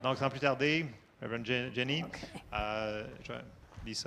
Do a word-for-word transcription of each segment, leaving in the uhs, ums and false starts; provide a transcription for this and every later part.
Donc, sans plus tarder, Reverend Jenny, okay. uh, Lisa.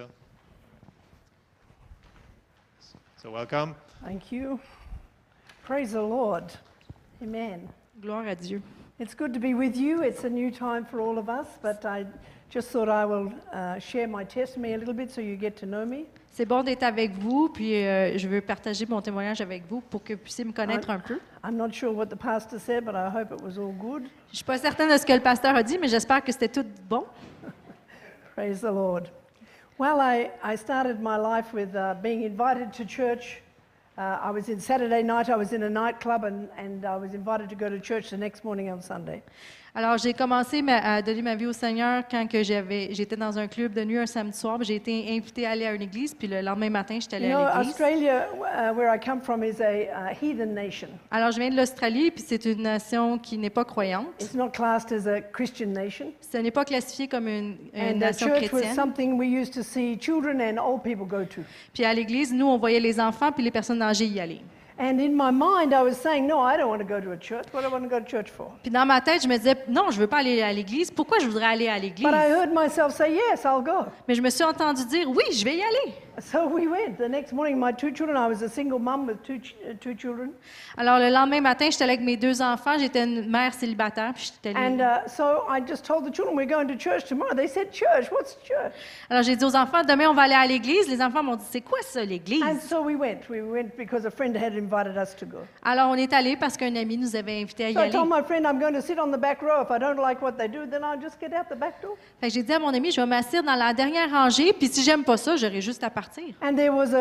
So, welcome. Thank you. Praise the Lord. Amen. Gloire à Dieu. It's good to be with you. It's a new time for all of us, but I just thought I will uh, share my testimony a little bit so you get to know me. C'est bon d'être avec vous, puis euh, je veux partager mon témoignage avec vous pour que vous puissiez me connaître I'm, un peu. I'm not sure what the pastor said, but I hope it was all good. Je suis pas certaine de ce que le pasteur a dit, mais j'espère que c'était tout bon. Praise the Lord. Well, I, I started my life with uh, being invited to church. Uh, I was in Saturday night, I was in a nightclub, and, and I was invited to go to church the next morning on Sunday. Alors, j'ai commencé ma, à donner ma vie au Seigneur quand que j'avais, j'étais dans un club de nuit un samedi soir. J'ai été invitée à aller à une église, puis le lendemain matin, j'étais allée you know, à l'église. Australia, uh, where I come from, is a uh, heathen nation. Alors, je viens de l'Australie, puis c'est une nation qui n'est pas croyante. It's not classed as a Christian nation. Ce n'est pas classifié comme une, une And nation the church was chrétienne. something we used to see children and old people go to. Puis à l'église, nous, on voyait les enfants puis les personnes âgées y aller. And in my mind, I was saying, no, I don't want to go to a church. What do I want to go to church for? Puis dans ma tête, je me disais, non, je veux pas aller à l'église. Pourquoi je voudrais aller à l'église? But I heard myself say, yes, I'll go. Mais je me suis entendu dire, oui, je vais y aller. So we went. The next morning, my two children, I was a single mum with two, ch- uh, two children. Alors le lendemain matin, j'étais avec mes deux enfants. J'étais une mère célibataire. Puis j'étais And uh, so I just told the children, we're going to church tomorrow. They said, church? What's church? Alors j'ai dit aux enfants, demain on va aller à l'église. Les enfants m'ont dit, c'est quoi ça, l'église? And so we went. We went because a friend had invited us to go. Alors on est allés parce qu'un ami nous avait invités à y So I aller. told my friend, I'm going to sit on the back row. If I don't like what they do, then I'll just get out the back door. Fait que j'ai dit à mon ami, je vais m'asseoir dans la dernière rangée. Puis si j'aime pas ça, j'aurai juste à partir. And there was a,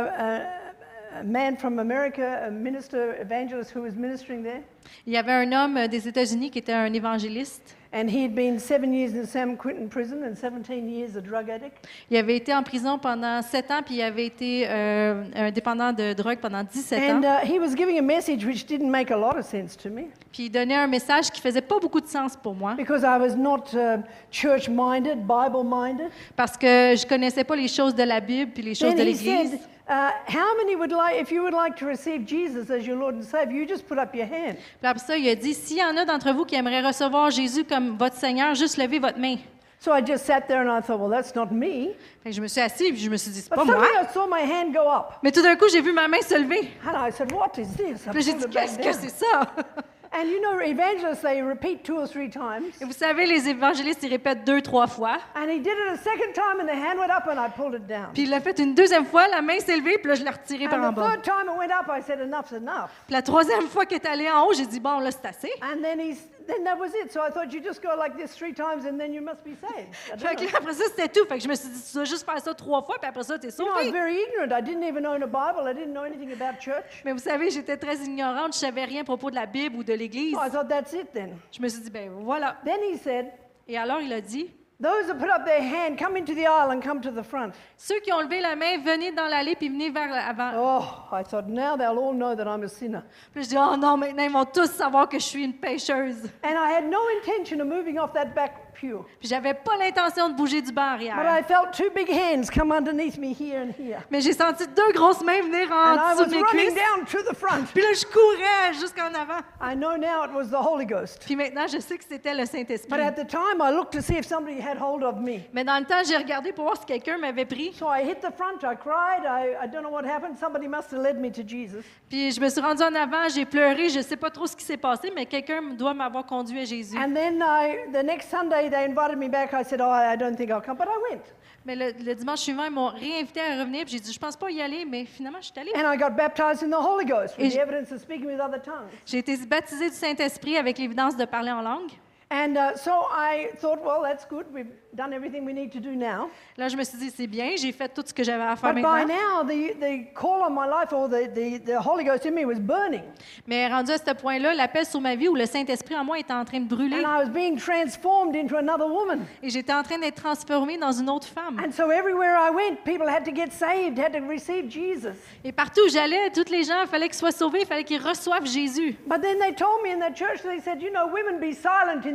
a, a, a man from America, a minister, evangelist who was ministering there. Il y avait un homme des États-Unis qui était un évangéliste. And he had been seven years in San Quentin prison and seventeen years a drug addict. Il avait été en prison pendant sept ans, puis il avait été euh, un dépendant de drogue pendant dix-sept ans. And uh, he was giving a message which didn't make a lot of sense to me. Puis il donnait un message qui faisait pas beaucoup de sens pour moi, Because I was not uh, church-minded, Bible-minded. parce que je connaissais pas les choses de la Bible puis les choses Then de he l'Église. said, uh, how many would like, if you would like to receive Jesus as your Lord and Savior, you just put up your hand. Puis après ça, il a dit, s'il y en a d'entre vous qui aimeraient recevoir Jésus comme votre Seigneur, juste levez votre main. So I just sat there and I thought, well, that's not me. Fait que je me suis assise et je me suis dit, c'est But pas moi. suddenly I saw my hand go up. Mais tout d'un coup, j'ai vu ma main se lever. And I said, what is this? I Puis là, j'ai pulled dit, it back qu'est-ce que down. c'est ça? And you know, evangelists, they repeat two or three times. Et vous savez, les évangélistes, ils répètent deux, trois fois. And he did it a second time and the hand went up and I pulled it down. Puis il l'a fait une deuxième fois, la main s'est levée, puis là, je l'ai retirée par en And the bas. third time it went up, I said, enough's enough. Puis la troisième fois qu'elle est allée en haut, j'ai dit, bon, là, c'est assez. And then he's, then that was it. So I thought you just go like this three times and then you must be saved. I don't Fait que know. là, après ça, c'était tout. Fait que je me suis dit, tu dois juste faire ça trois fois, puis après ça, t'es You know, I was sauvé. very ignorant. I didn't even own a Bible. I didn't know anything about church. Mais vous savez, j'étais très ignorante, je savais rien à propos de la Bible ou de l'Église. So I thought, that's it then. Je me suis dit, ben voilà. Then he said, Et alors, il a dit, those that put up their hand, come into the aisle and come to the front. ceux qui ont levé la main, venez dans l'allée, puis venez vers l'avant. Oh, I thought, now they'll all know that I'm a sinner. Puis je dis, oh non, maintenant, ils vont tous savoir que je suis une pécheuse. And I had no intention of moving off that back pew. Puis j'avais pas l'intention de bouger du banc But arrière. I felt two big hands come underneath me here and here. Mais j'ai senti deux grosses mains venir And I en dessous was de mes running cuisses. down to the front. Puis là, je courais jusqu'en avant. I know now it was the Holy Ghost. Puis maintenant, je sais que c'était le But Saint-Esprit. at the time, I looked to see if somebody had hold of me. Mais dans le temps, j'ai regardé pour voir si quelqu'un m'avait pris. So I hit the front, I cried, I, I don't know what happened. Somebody must have led me to Jesus. Puis je me suis rendue en avant, j'ai pleuré, je sais pas trop ce qui s'est passé, mais quelqu'un doit m'avoir conduit à Jésus. And then I, the next Sunday, they invited me back. I said, oh, I don't think I'll come. But I went. Mais le, le dimanche suivant, ils m'ont réinvité à revenir, puis j'ai dit, je pense pas y aller, mais finalement, je suis allée. And I got baptized in the Holy Ghost with Et the je- evidence of speaking with other tongues. J'ai été baptisée du Saint-Esprit avec l'évidence de parler en langue. And uh, so I thought, well, that's good. We've done everything we need to do now. Là, je me suis dit, c'est bien, j'ai fait tout ce que j'avais à faire But by maintenant. now, the, the call on my life or the, the, the Holy Ghost in me was burning. Mais rendu à ce point-là, l'appel sur ma vie où le Saint-Esprit en moi était en train de brûler. And I was being transformed into another woman. Et j'étais en train d'être transformée dans une autre femme. And so everywhere I went, people had to get saved, had to receive Jesus. Et partout où j'allais, tous les gens, il fallait qu'ils soient sauvés, il fallait qu'ils reçoivent Jésus. But then they told me in that church, they said, you know, women be silent in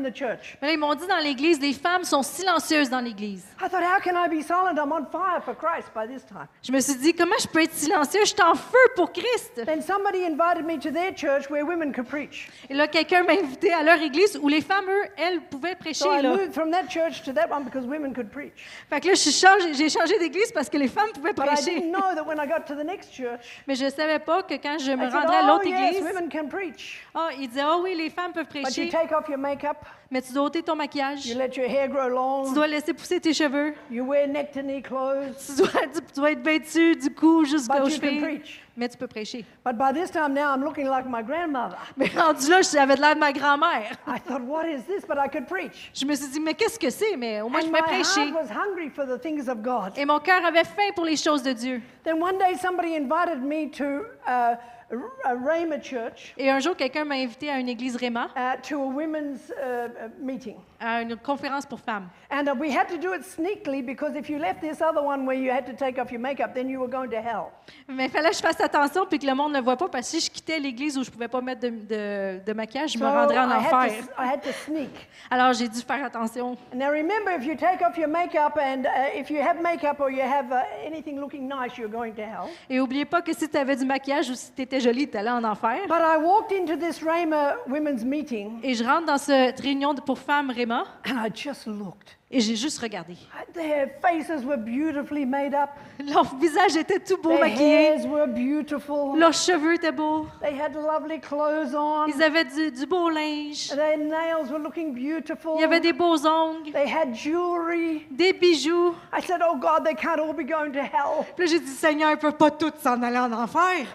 the church. Mais là, ils m'ont dit dans l'Église, les femmes sont silencieuses dans l'Église. I thought, how can I be silent? I'm on fire for Christ by this time. Je me suis dit, comment je peux être silencieuse? Je suis en feu pour Christ. Then somebody invited me to their church where women could preach. Et là, quelqu'un m'a invité à leur église où les femmes, eux, elles, pouvaient prêcher. So I Là. moved from that church to that one because women could preach. Fait que là, je suis changé- j'ai changé d'église parce que les femmes pouvaient But I prêcher. didn't know that when I got to the next church, Mais je ne savais pas que quand je me I said, rendrais à oh l'autre yes, église, women can preach. ah, ils disaient, ah oui, les femmes peuvent But you prêcher, take off your makeup, mais tu dois ôter ton maquillage, you let your hair grow tu long, dois laisser pousser tes cheveux, you wear neck to knee clothes, tu dois, tu dois être vêtu du cou jusqu'aux but you can chevilles, preach. mais tu peux prêcher. But by this time now, I'm looking like my grandmother. Mais rendu là, j'avais de l'air de ma grand-mère. I thought, what is this? But I could preach. Je me suis dit, mais qu'est-ce que c'est? Mais au moins, je And pouvais my prêcher. heart was hungry for the things of God. Et mon cœur avait faim pour les choses de Dieu. Then one day somebody invited me to uh, a Rhema church, Et un jour, quelqu'un m'a invité à une église Réma, uh, to a women's uh, uh, meeting. à une conférence pour femmes. And uh, we had to do it sneakily because if you left this other one where you had to take off your makeup, then you were going to hell. Mais il fallait que je fasse attention puis que le monde ne le voit pas parce que si je quittais l'église où je ne pouvais pas mettre de, de, de maquillage, je me So rendrais en I had, enfer. to, I had to sneak. Alors j'ai dû faire attention. Now remember, if you take off your makeup and uh, if you have makeup or you have uh, anything looking nice, you're going to hell. Et n'oubliez pas que si tu avais du maquillage ou si tu étais jolie, tu allais en enfer. But I walked into this Rhema women's meeting Et je rentre dans cette réunion de- pour femmes Réma and I just looked. et j'ai juste regardé. Their faces were beautifully made up. Leur visage était tout beau Their maquillé. hairs were beautiful. Leurs cheveux étaient beaux. They had lovely clothes on. Ils avaient du, du beau linge. Their nails were looking beautiful. Il y avait des beaux ongles, They had jewelry. des bijoux. I said, oh God, they can't all be going to hell. Puis là, j'ai dit, Seigneur, ils ne peuvent pas tous s'en aller en enfer.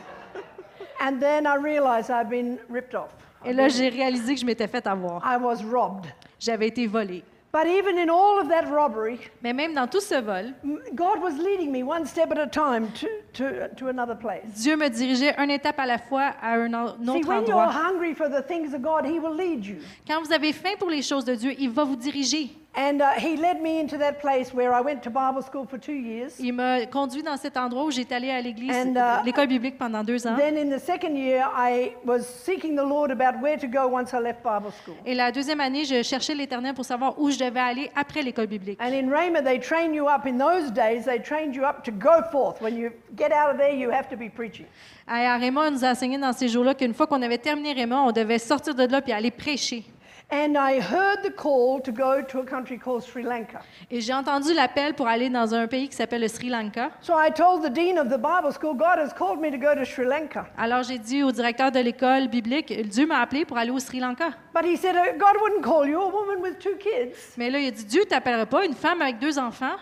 And then I realized I'd been ripped off. Et là, j'ai réalisé que je m'étais fait avoir. I was robbed. J'avais été volée. But even in all of that robbery, Mais même dans tout ce vol, m- God was leading me one step at a time to, to, to another place. Dieu me dirigeait une étape à la fois à un en- un See, autre when you're endroit. hungry for the things of God, He will lead you. Quand vous avez faim pour les choses de Dieu, il va vous diriger. And uh, He led me into that place where I went to Bible school for two years. Il m'a conduit dans cet endroit où j'étais allée à l'église, And, uh, l'école biblique pendant deux ans. Then in the second year, I was seeking the Lord about where to go once I left Bible school. Et la deuxième année, je cherchais l'Éternel pour savoir où je devais aller après l'école biblique. And in Rhema, they train you up. In those days, they trained you up to go forth. When you get out of there, you have to be preaching. À Réma, on nous a enseigné dans ces jours-là qu'une fois qu'on avait terminé Réma, on devait sortir de là puis aller prêcher. And I heard the call to go to a country called Sri Lanka. Et j'ai entendu l'appel pour aller dans un pays qui s'appelle le Sri Lanka. So I told the dean of the Bible school, God has called me to go to Sri Lanka. Alors j'ai dit au directeur de l'école biblique, Dieu m'a appelé pour aller au Sri Lanka. But he said, uh, God wouldn't call you, a woman with two kids. Mais là, il a dit, Dieu ne t'appellera pas une femme avec deux enfants.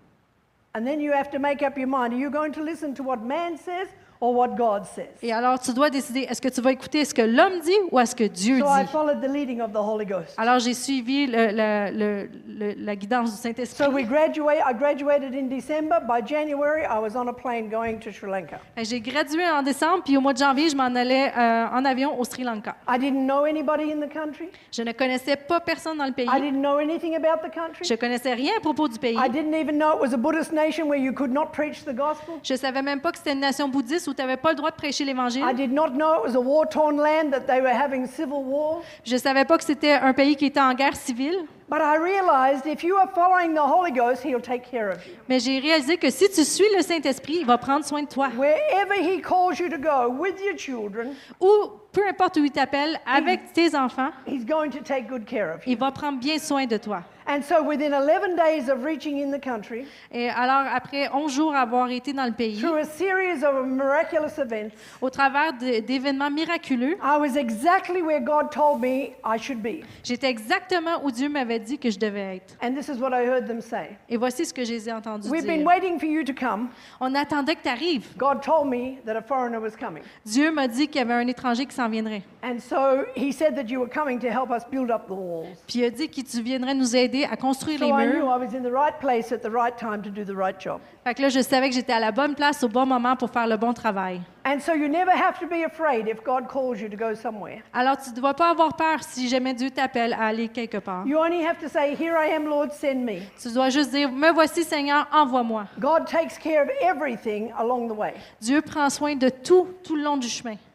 And then you have to make up your mind. Are you going to listen to what man says or what God says? Et alors, tu dois décider, est-ce que tu vas écouter ce que l'homme dit ou est-ce que Dieu So I dit? followed the leading of the Holy Ghost. Alors, j'ai suivi le- le- le- le- la guidance du So Saint-Esprit. we graduate. I graduated in December. By January, I was on a plane going to Sri Lanka. Fait que J'ai gradué en décembre, puis au mois de janvier, je m'en allais euh, en avion au Sri Lanka. I didn't know anybody in the country. Je ne connaissais pas personne dans le pays. I didn't know anything about the country. Je connaissais rien à propos du pays. I didn't even know it was a Buddhist nation where you could not preach the gospel. Je savais même pas que c'était une nation bouddhiste où tu n'avais pas le droit de prêcher l'Évangile. I did not know it was a war-torn land, that they were having civil war. Je savais pas que c'était un pays qui était en guerre civile. But I realized if you are following the Holy Ghost, He'll take care of you. Mais j'ai réalisé que si tu suis le Saint-Esprit, il va prendre soin de toi. Wherever He calls you to go with your children, Ou peu importe où il t'appelle, avec tes enfants, He's going to take good care of you. il va prendre bien soin de toi. And so within eleven days of reaching in the country, Et alors, après onze jours avoir été dans le pays, through a series of miraculous events, au travers de- d'événements miraculeux, I was exactly where God told me I should be. j'étais exactement où Dieu m'avait dit que je devais être. And this is what I heard them say. Et voici ce que je les ai entendus We've been dire. waiting for you to come. On attendait que tu arrives. God told me that a foreigner was coming. Dieu m'a dit qu'il y avait un étranger qui s'en viendrait. And so He said that you were coming to help us build up the walls. Puis il a dit que tu viendrais nous aider à construire So les I knew murs. I was in the right place at the right time to do the right job. Fait que là, je savais que j'étais à la bonne place au bon moment pour faire le bon travail. And so you never have to be afraid if God calls you to go somewhere. Alors, tu ne dois pas avoir peur si jamais Dieu t'appelle à aller quelque part. You only have to say, Here I am, Lord, send me. Tu dois juste dire, me voici Seigneur, envoie-moi. God takes care of everything along the way. Dieu prend soin de tout, tout le long du chemin.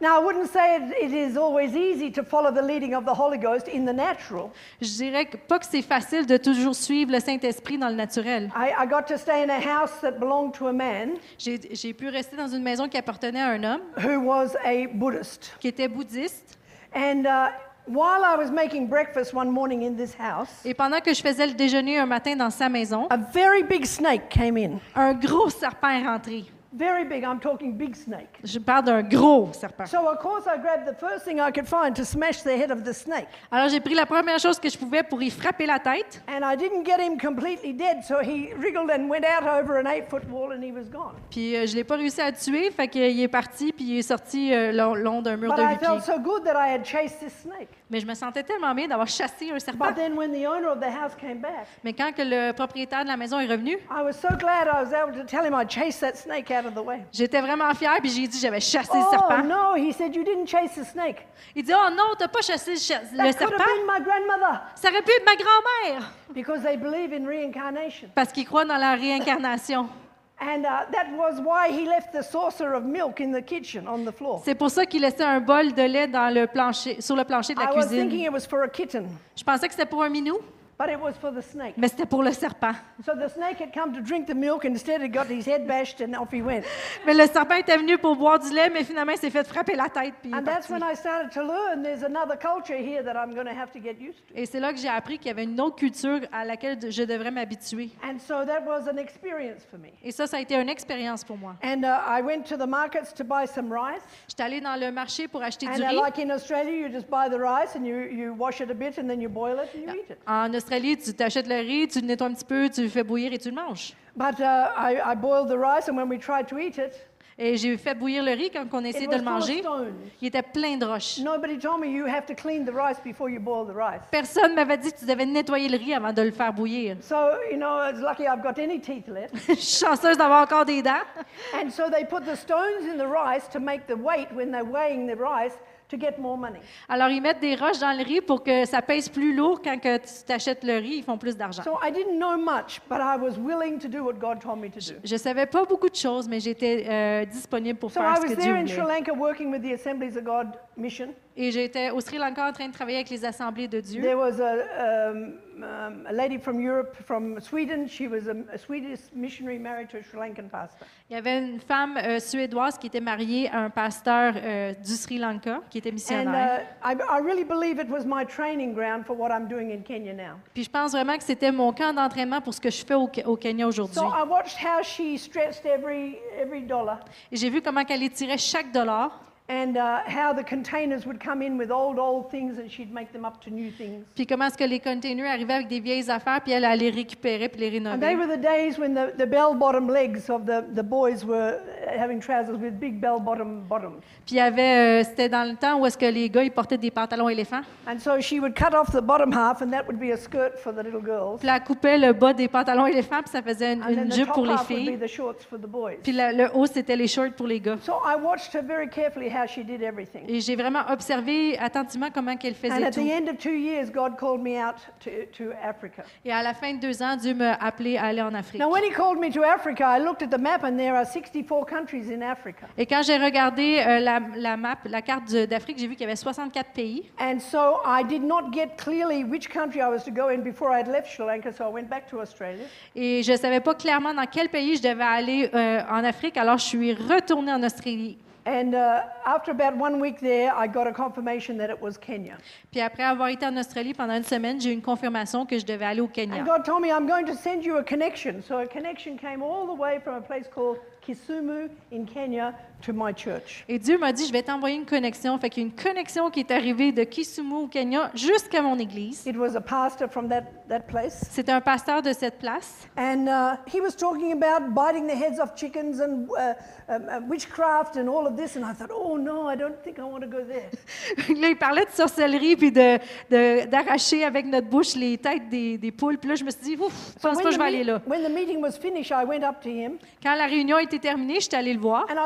Now, I wouldn't say it, it is always easy to follow the leading of the Holy Ghost in the natural. Je dirais que, pas que c'est facile de toujours suivre le Saint-Esprit dans le naturel. I, I got to stay in a house that belonged to a man J'ai j'ai pu rester dans une maison qui appartenait à un homme who was a Buddhist. qui était bouddhiste. And uh, while I was making breakfast one morning in this house, Et pendant que je faisais le déjeuner un matin dans sa maison, a very big snake came in. un gros serpent est rentré. Very big, I'm talking big snake. Je parle d'un gros serpent. So, of course, I grabbed the first thing I could find to smash the head of the snake. Alors, j'ai pris la première chose que je pouvais pour y frapper la tête. And I didn't get him completely dead, so he wriggled and went out over an eight-foot wall and he was gone. Puis, euh, je l'ai pas réussi à tuer, fait qu'il est parti, puis il est sorti euh, long, long d'un mur But de I huit felt pieds. so good that I had chased this snake. Mais je me sentais tellement bien d'avoir chassé un serpent. But then when the owner of the house came back, Mais quand que le propriétaire de la maison est revenu, I was so glad I was able to tell him I chased that snake out of the way. j'étais vraiment fière, puis j'ai dit j'avais chassé le Oh, serpent. no, he said, you didn't chase the snake. Il dit « Oh non, t'as pas chassé le, cha- le That could serpent? have been my grandmother. Ça aurait pu être ma grand-mère! » Because they believe in reincarnation. Parce qu'il croit dans la réincarnation. And uh, that was why he left the saucer of milk in the kitchen on the floor. C'est pour ça qu'il laissait un bol de lait dans le plancher, sur le plancher de la I was thinking cuisine. it was for a kitten, Je pensais que c'était pour un minou, but it was for the snake. mais c'était pour le serpent. So the snake had come to drink the milk, and instead it got his head bashed, and off he went. Mais le serpent était venu pour boire du lait, mais finalement, il s'est fait frapper la tête. Puis il est And that's parti. when I started to learn there's another culture here that I'm going to have to get used to. Et c'est là que j'ai appris qu'il y avait une autre culture à laquelle je devrais m'habituer. And so that was an experience for me. Et ça, ça a été une expérience pour moi. And uh, I went to the markets to buy some rice. J'étais allée dans le marché pour acheter And du uh, riz. like in Australia, you just buy the rice and you, you wash it a bit and then you boil it and you eat it. En Australie, tu t'achètes le riz, tu le nettoies un petit peu, tu le fais bouillir et tu le manges. But uh, I, I boiled the rice, and when we tried to eat it, Et j'ai fait bouillir le riz quand on essayait it de was le full of manger. stones. Il était plein de roches. Nobody told me you have to clean the rice before you boil the rice. Personne m'avait dit que tu devais nettoyer le riz avant de le faire bouillir. So, you know, it's lucky I've got any teeth left. Je suis chanceuse d'avoir encore des dents. And so they put the stones in the rice to make the weight when they're weighing the rice to get more money. Alors, ils mettent des roches dans le riz pour que ça pèse plus lourd quand que tu t'achètes le riz. Ils font plus d'argent. So I didn't know much, but I was willing to do what God told me to do. Je savais pas beaucoup de choses, mais j'étais euh, disponible pour So faire I ce was que Dieu there in Sri voulait. Lanka working with the Assemblies of God mission. Et j'étais au Sri Lanka en train de travailler avec les assemblées de Dieu. There was a, um, um, a lady from Europe, from Sweden. She was a, a Swedish missionary married to a Sri Lankan pastor. Il y avait une femme euh, suédoise qui était mariée à un pasteur euh, du Sri Lanka, qui était And missionnaire. uh, I, I really believe it was my training ground for what I'm doing in Kenya now. Puis je pense vraiment que c'était mon camp d'entraînement pour ce que je fais au, au Kenya aujourd'hui. So I watched how she stretched every, every dollar. Et j'ai vu comment elle étirait chaque dollar, And uh, how the containers would come in with old, old things and she'd make them up to new things. puis comment est-ce que les containers arrivaient avec des vieilles affaires, puis elle allait les récupérer puis les And they rénover. were the days when the, the bell-bottom legs of the, the boys were having trousers with big bell-bottom bottoms. Puis il y avait, euh, c'était dans le temps où est-ce que les gars ils portaient des pantalons éléphants. And so she would cut off the bottom half and that would be a skirt for the little girls. Puis elle coupait le bas des pantalons éléphants, puis ça faisait une, And then une the jupe top pour les half would be filles. the shorts for the boys. Puis le, le haut, c'était les shorts pour les gars. So I watched her very carefully how she did everything. Et j'ai vraiment observé attentivement comment qu'elle And faisait at tout. the end of two years, God called me out to, to Africa. Et à la fin de deux ans, Dieu m'a appelé à aller en Afrique. Now, when he called me to Africa, I looked at the map and there are sixty-four countries in Africa. Et quand j'ai regardé euh, la, la map, la carte de- d'Afrique, j'ai vu qu'il y avait soixante-quatre pays. And so I did not get clearly which country I was to go in before I had left Sri Lanka, so I went back to Australia. Et je ne savais pas clairement dans quel pays je devais aller euh, en Afrique, alors je suis retournée en Australie. And uh, after about one week there, I got a confirmation that it was Kenya. Puis après avoir été en Australie pendant une semaine, j'ai eu une confirmation que je devais aller au Kenya. And God told me, I'm going to send you a connection. So a connection came all the way from a place called Kisumu in Kenya to my church. Et Dieu m'a dit, je vais t'envoyer une connexion. Fait qu'il y a une connexion qui est arrivée de Kisumu au Kenya jusqu'à mon église. It was a pastor from that, that place. C'était un pasteur de cette place. And uh, he was talking about biting the heads off chickens and uh, um, uh, witchcraft and all of this. And I thought, oh no, I don't think I want to go there. Là, il parlait de sorcellerie puis de, de- d'arracher avec notre bouche les têtes des, des poules. Puis là, je me suis dit, ouf, je pense pas que je vais the aller me- là. when the meeting was finished, I went up to him Quand la réunion était terminée, je suis allée le voir. and I heard my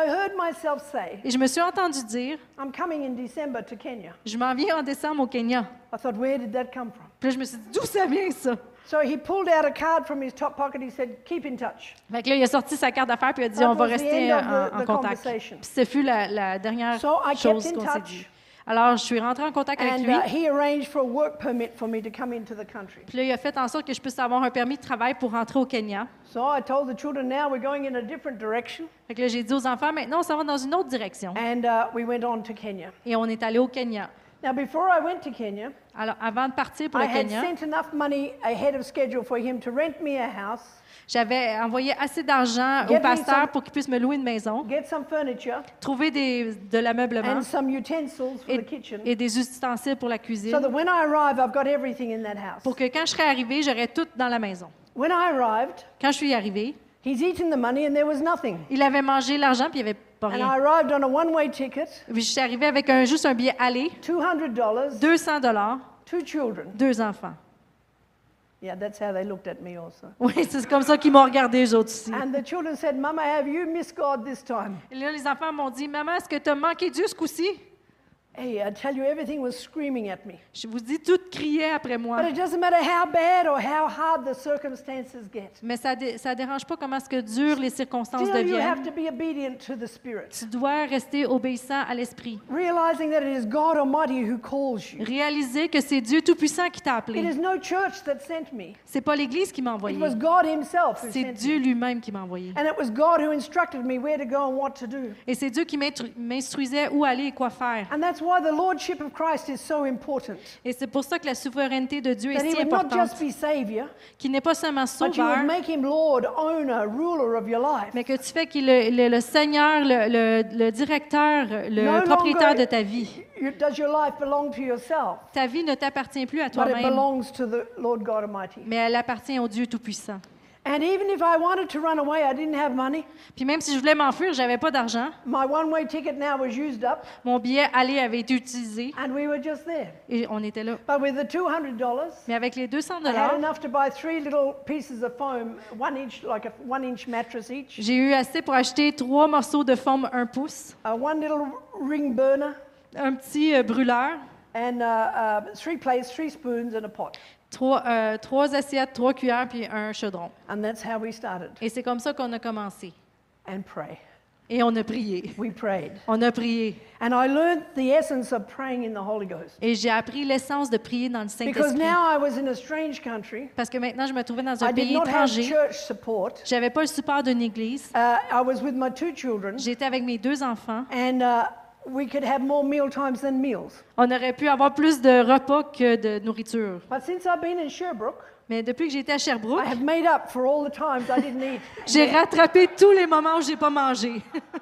myself say, Et je me suis entendue dire, I'm coming in December to Kenya. je m'en viens en décembre au Kenya. I thought, where did that come from? Puis là, je me suis dit, d'où ça vient ça? So he pulled out a card from his top pocket. He said, keep in touch. Fait que là, il a sorti sa carte d'affaires puis il a dit, That on va was the rester end of en, the- en the contact. conversation. Puis ce fut la, la dernière So I chose kept in qu'on s'est touch. dit. Alors, je suis rentrée en contact avec And lui. uh, he arranged for a work permit for me to come into the country. Puis là, il a fait en sorte que je puisse avoir un permis de travail pour rentrer au Kenya. So I told the children, now we're going in a different direction. Fait que là, j'ai dit aux enfants, maintenant, on s'en va dans une autre direction. And uh, we went on to Kenya. Et on est allé au Kenya. Now, before I went to Kenya, Alors, avant de partir pour I le had Kenya, sent enough money ahead of schedule for him to rent me a house, j'avais envoyé assez d'argent Get au me pasteur some- pour qu'il puisse me louer une maison, get some furniture, trouver des, de l'ameublement and some utensils for et, the kitchen, et des ustensiles pour la so cuisine, that when I arrive, I've got everything in that house. pour que quand je serais arrivée, j'aurais tout dans la maison. When I arrived, Quand je suis arrivée, he's eaten the money and there was nothing. il avait mangé l'argent puis il n'y avait pas And I rien. arrived on a one-way ticket, Puis je suis arrivée avec un, juste un billet aller, two hundred dollars, deux cents dollars, two children. deux enfants. Yeah, that's how they looked at me also. Oui, c'est comme ça qu'ils m'ont regardé, eux autres aussi. And the children said, Mama, have you missed God this time? Et là, les enfants m'ont dit, « Maman, est-ce que tu as manqué Dieu ce coup-ci? » Hey, I tell you, everything was screaming at me. Je vous dis, tout criait après moi. But it doesn't matter how bad or how hard the circumstances get. Mais ça ne ça dérange pas comment est-ce que durent les circonstances Still, you have deviennent. to be obedient to the Spirit, Tu dois rester obéissant à l'Esprit. realizing that it is God Almighty who calls you. Réaliser que c'est Dieu Tout-Puissant qui t'a It appelé. is no church that sent me. C'est pas l'Église qui m'a It envoyé. was God Himself who C'est sent Dieu me. lui-même qui m'a envoyé. And it was God who instructed me where to go and what to do. Et c'est Dieu qui m'instru- m'instruisait où aller et quoi faire. And that's why the Lordship of Christ is so important. Et c'est pour ça que la souveraineté de Dieu That est He si would not importante. just be Savior, Qu'il n'est pas seulement but you would sauveur, make Him Lord, owner, ruler of your life. mais que tu fais qu'il est le, le- le Seigneur, le, le- le directeur, le No propriétaire longer de ta vie. you- does your life belong to yourself, Ta vie ne t'appartient plus à but it toi-même, belongs to the Lord God Almighty. mais elle appartient au Dieu Tout-Puissant. And even if I wanted to run away, I didn't have money. Puis même si je voulais m'enfuir, j'avais pas d'argent. My one-way ticket now was used up, Mon billet aller avait été utilisé and we were just there. et on était là. But with the two hundred dollars, Mais avec les deux cents I had dollars, enough to buy three little pieces of foam, one inch, like a one-inch mattress each, j'ai eu assez pour acheter trois morceaux de forme un pouce, uh, one little ring burner, un petit euh, brûleur, and uh, uh, three plates, three spoons, and a pot. trois, euh, trois assiettes, trois cuillères puis un chaudron. And that's how we started. Et c'est comme ça qu'on a commencé. And pray. Et on a prié. We prayed. On a prié. And I learned the essence of praying in the Holy Ghost. Et j'ai appris l'essence de prier dans le Because Saint-Esprit. now I was in a strange country. Parce que maintenant, je me trouvais dans un I did pays not have étranger. church support. J'avais pas le support d'une église. Uh, I was with my two children. J'étais avec mes deux enfants. And uh, we could have more meal times than meals. On aurait pu avoir plus de repas que de nourriture. But since I've been in Sherbrooke, Mais depuis que j'étais à Sherbrooke, I have made up for all the times I didn't eat. j'ai rattrapé tous les moments où j'ai pas mangé.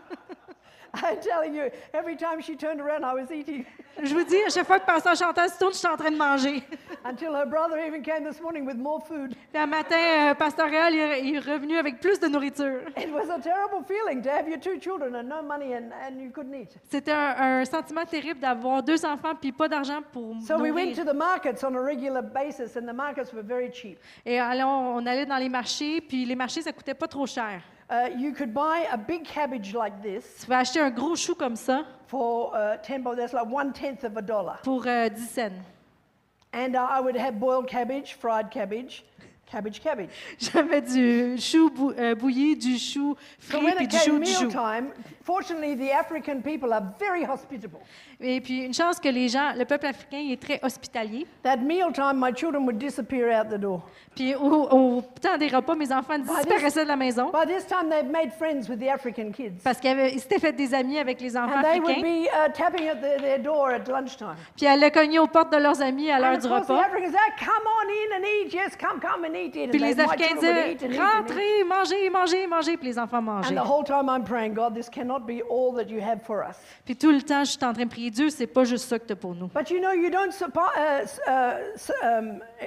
I'm telling you, every time she turned around, I was eating. Je vous dis, à chaque fois que Pasteur Chantal se tourne, je suis en train de manger. Until her brother even came this morning with more food. Puis un matin, euh, Pasteur Réal il est- il est revenu avec plus de nourriture. It was a terrible feeling to have your two children and no money and, and you couldn't eat. C'était un, un sentiment terrible d'avoir deux enfants puis pas d'argent pour So we went nourrir. to the markets on a regular basis and the markets were very cheap. Et alors, on allait dans les marchés, puis les marchés, ça coûtait pas trop cher. Uh, you could buy a big cabbage like this Tu vas acheter un gros chou comme ça for uh, ten dollars. That's like one tenth of a dollar. pour euh, dix cents. And uh, I would have boiled cabbage, fried cabbage, cabbage, cabbage. J'avais du chou bou- euh, bouilli, du chou So frit, when puis it du chou, came du chou. mealtime, fortunately the African people are very hospitable. Et puis, une chance que les gens, le peuple africain, il est très hospitalier. That mealtime, my children would disappear out the door. Puis, au, au temps des repas, mes enfants disparaissaient de la maison By this time, they've made friends with the African kids. parce qu'ils avaient- ils s'étaient fait des amis avec les enfants And they would africains. be uh, tapping at their, their door at lunchtime. Puis, elle a cogné aux portes de leurs amis à And l'heure of du course, the repas. Africans say, come on in and eat. Yes, come, come and eat it. And Puis, they- les my Africains children would eat disaient, and eat and eat. rentrez, mangez, mangez, mangez. Puis, les enfants And mangeaient. the whole time I'm praying, God, this cannot be all that you have for us. Puis, tout le temps, je suis en train de prier, Dieu, c'est pas juste ça que tu as pour nous. But you know, you don't suppo- uh, s- uh, s- um,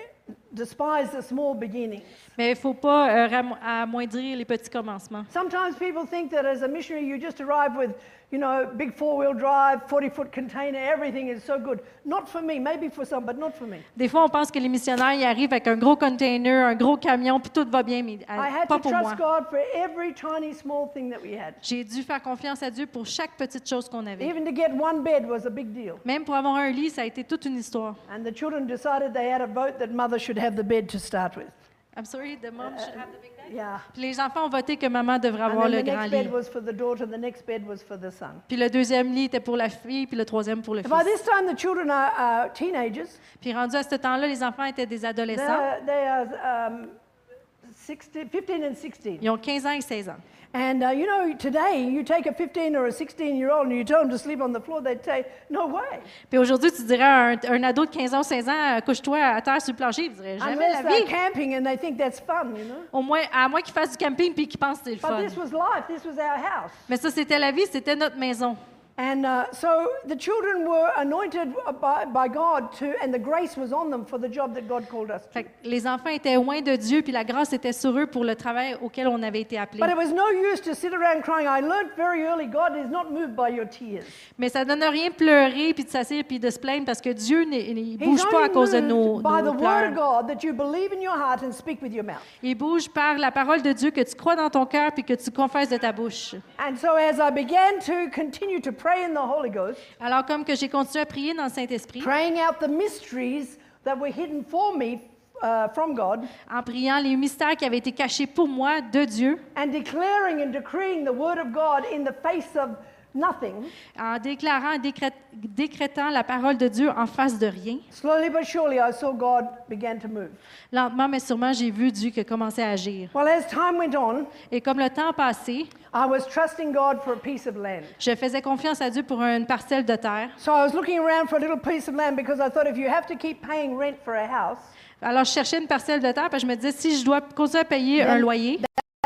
despise the small beginnings. Mais il ne faut pas euh, ram- amoindrir les petits commencements. Sometimes people think that as a missionary you just arrive with, you know, big four-wheel drive, forty-foot container, everything is so good. Not for me, maybe for some, but not for me. Des fois, on pense que les missionnaires y arrivent avec un gros container, un gros camion, puis tout va bien, mais euh, I had pas to pour moi. trust God for every tiny small thing that we had. J'ai dû faire confiance à Dieu pour chaque petite chose qu'on avait. Even to get one bed was a big deal. Même pour avoir un lit, ça a été toute une histoire. And the children decided they had a vote that mother should have the bed to start with. I'm sorry, the mom should have the big bed. Yeah. Puis les enfants ont voté que maman devrait And avoir then le the grand next lit. bed was for the daughter, the next bed was for the son. Puis le deuxième lit était pour la fille, puis le troisième pour le fils. By this time, the children are, are teenagers. Puis rendu à ce temps-là, les enfants étaient des adolescents. They're, they are um, sixteen, fifteen and sixteen. Ils ont quinze ans et seize ans. And uh, you know, today, you take a fifteen or a sixteen-year-old and you tell them to sleep on the floor, they'd say, no way. Puis aujourd'hui, tu dirais à un, un ado de quinze ans ou seize ans, couche-toi à terre sur le plancher, il dirait jamais Unless la they're vie. camping and they think that's fun, you know. Au moins, à moins qu'ils fassent du camping puis qu'ils pensent que c'est le But fun. this was life. This was our house. Mais ça, c'était la vie, c'était notre maison. And uh, so the children were anointed by, by God to, and the grace was on them for the job that God called us to. Fait que les enfants étaient loin de Dieu, puis la grâce était sur eux pour le travail auquel on avait été appelés. But it was no use to sit around crying. I learned very early God is not moved by your tears. Mais ça donne rien de pleurer, puis de s'asseoir, puis de se plaindre, parce que Dieu ne He's bouge pas à only cause de moved nos, by nos the word of pleurs. God that you believe in your heart and speak with your mouth. Il bouge par la parole de Dieu que tu crois dans ton cœur, puis que tu confesses de ta bouche. And so as I began to continue to pray in the Holy Ghost, Alors, comme que j'ai continué à prier dans le Saint-Esprit, praying out the mysteries that were hidden for me uh, from God, en priant les mystères qui avaient été cachés pour moi de Dieu, and declaring and decreeing the word of God in the face of nothing, en déclarant, et décrét- décrétant la parole de Dieu en face de rien, slowly but surely I saw God began to move. lentement mais sûrement, j'ai vu Dieu qui a commencé à agir. Well, as time went on, Et comme le temps passait, I was trusting God for a piece of land. je faisais confiance à Dieu pour une parcelle de terre. So I was looking around for a little piece of land because I thought if you have to keep paying rent for a house, Alors, je cherchais une parcelle de terre, parce que je me disais, si je dois continuer à payer un loyer,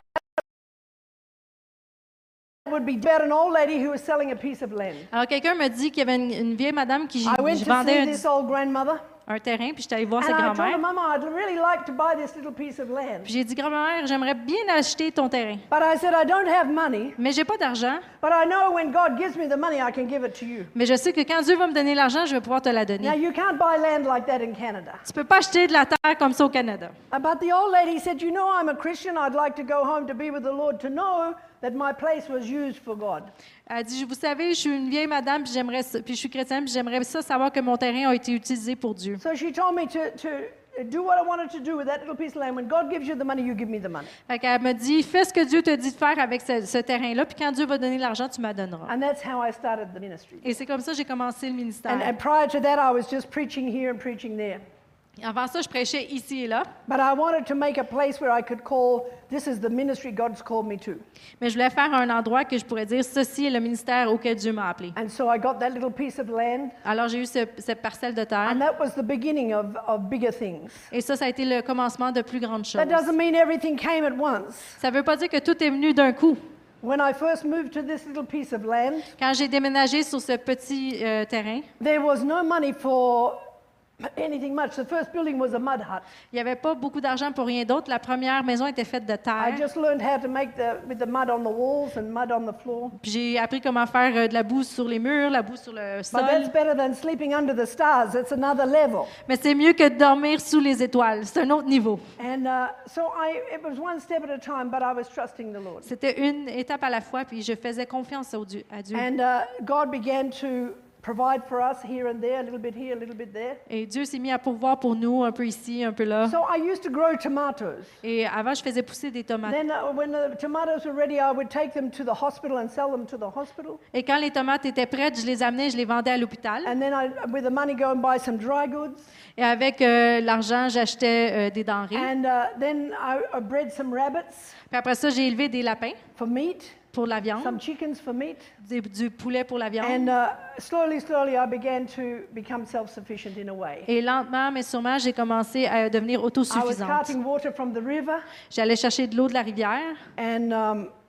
it would be about an old lady who was selling a piece of land. alors quelqu'un me dit qu'il y avait une, une vieille madame qui I went je to vendait see un, this old grandmother, un terrain, puis j'étais allée voir and sa I told her, grand-mère. Mama, I'd really like to buy this little piece of land. Puis j'ai dit, grand-mère, j'aimerais bien acheter ton terrain. But I said, I don't have money, Mais j'ai pas d'argent. but I know when God gives me the money, I can give it to you. Mais je sais que quand Dieu va me donner l'argent, je vais pouvoir te la donner. Now, you can't buy land like that in Canada. Tu peux pas acheter de la terre comme ça au Canada. Uh, But the old lady said, you know, I'm a Christian. I'd like to go home to be with the Lord to know that my place was used for God. Elle dit, vous savez, je suis une vieille madame, puis j'aimerais, ça- puis je suis chrétienne, puis j'aimerais ça savoir que mon terrain a été utilisé pour Dieu. So she told me to, to do what I wanted to do with that little piece of land. When God gives you the money, you give me the money. Fait qu'elle me dit, fais ce que Dieu te dit de faire avec ce, ce terrain-là, puis quand Dieu va donner l'argent, tu m'en donneras. And that's how I started the ministry. Et c'est comme ça que j'ai commencé le ministère. And, and prior to that, I was just preaching here and preaching there. Avant ça, je prêchais ici et là, But I wanted to make a place where I could call, this is the ministry God's called me to. mais je voulais faire un endroit que je pourrais dire, ceci est le ministère auquel Dieu m'a appelé. And so I got that little piece of land, Alors j'ai eu ce- cette parcelle de terre, and that was the beginning of, of bigger things. et ça, ça a été le commencement de plus grandes choses. That doesn't mean everything came at once. Ça ne veut pas dire que tout est venu d'un coup. When I first moved to this little piece of land, Quand j'ai déménagé sur ce petit euh, terrain, there was no money for anything much. The first building was a mud hut. il n'y avait pas beaucoup d'argent pour rien d'autre. La première maison était faite de I terre. just learned how to make the with the mud on the walls and mud on the floor. Puis j'ai appris comment faire euh, de la boue sur les murs, la boue sur le But sol. that's better than sleeping under the stars. That's another level. Mais c'est mieux que de dormir sous les étoiles. C'est un autre niveau. And uh, so I, it was one step at a time, but I was trusting the Lord. C'était une étape à la fois, puis je faisais confiance au Dieu- à Dieu. And uh, God began to provide for us here and there, a little bit here, a little bit there. Et Dieu s'est mis à pourvoir pour nous, un peu ici, un peu là. So I used to grow tomatoes. Et avant, je faisais pousser des tomates. Then uh, when the tomatoes were ready, I would take them to the hospital and sell them to the hospital. Et quand les tomates étaient prêtes, je les amenais, je les vendais à l'hôpital. And then I, with the money, go and buy some dry goods. Et avec euh, l'argent, j'achetais euh, des denrées. And uh, then I, I bred some rabbits Puis après ça, j'ai élevé des lapins for meat, pour la viande, some chickens for meat. des- du poulet pour la viande. And uh, slowly, slowly, I began to become self-sufficient in a way. Et lentement, mais sûrement, j'ai commencé à devenir I was autosuffisante. carting water from the river, J'allais chercher de l'eau de la rivière. and um,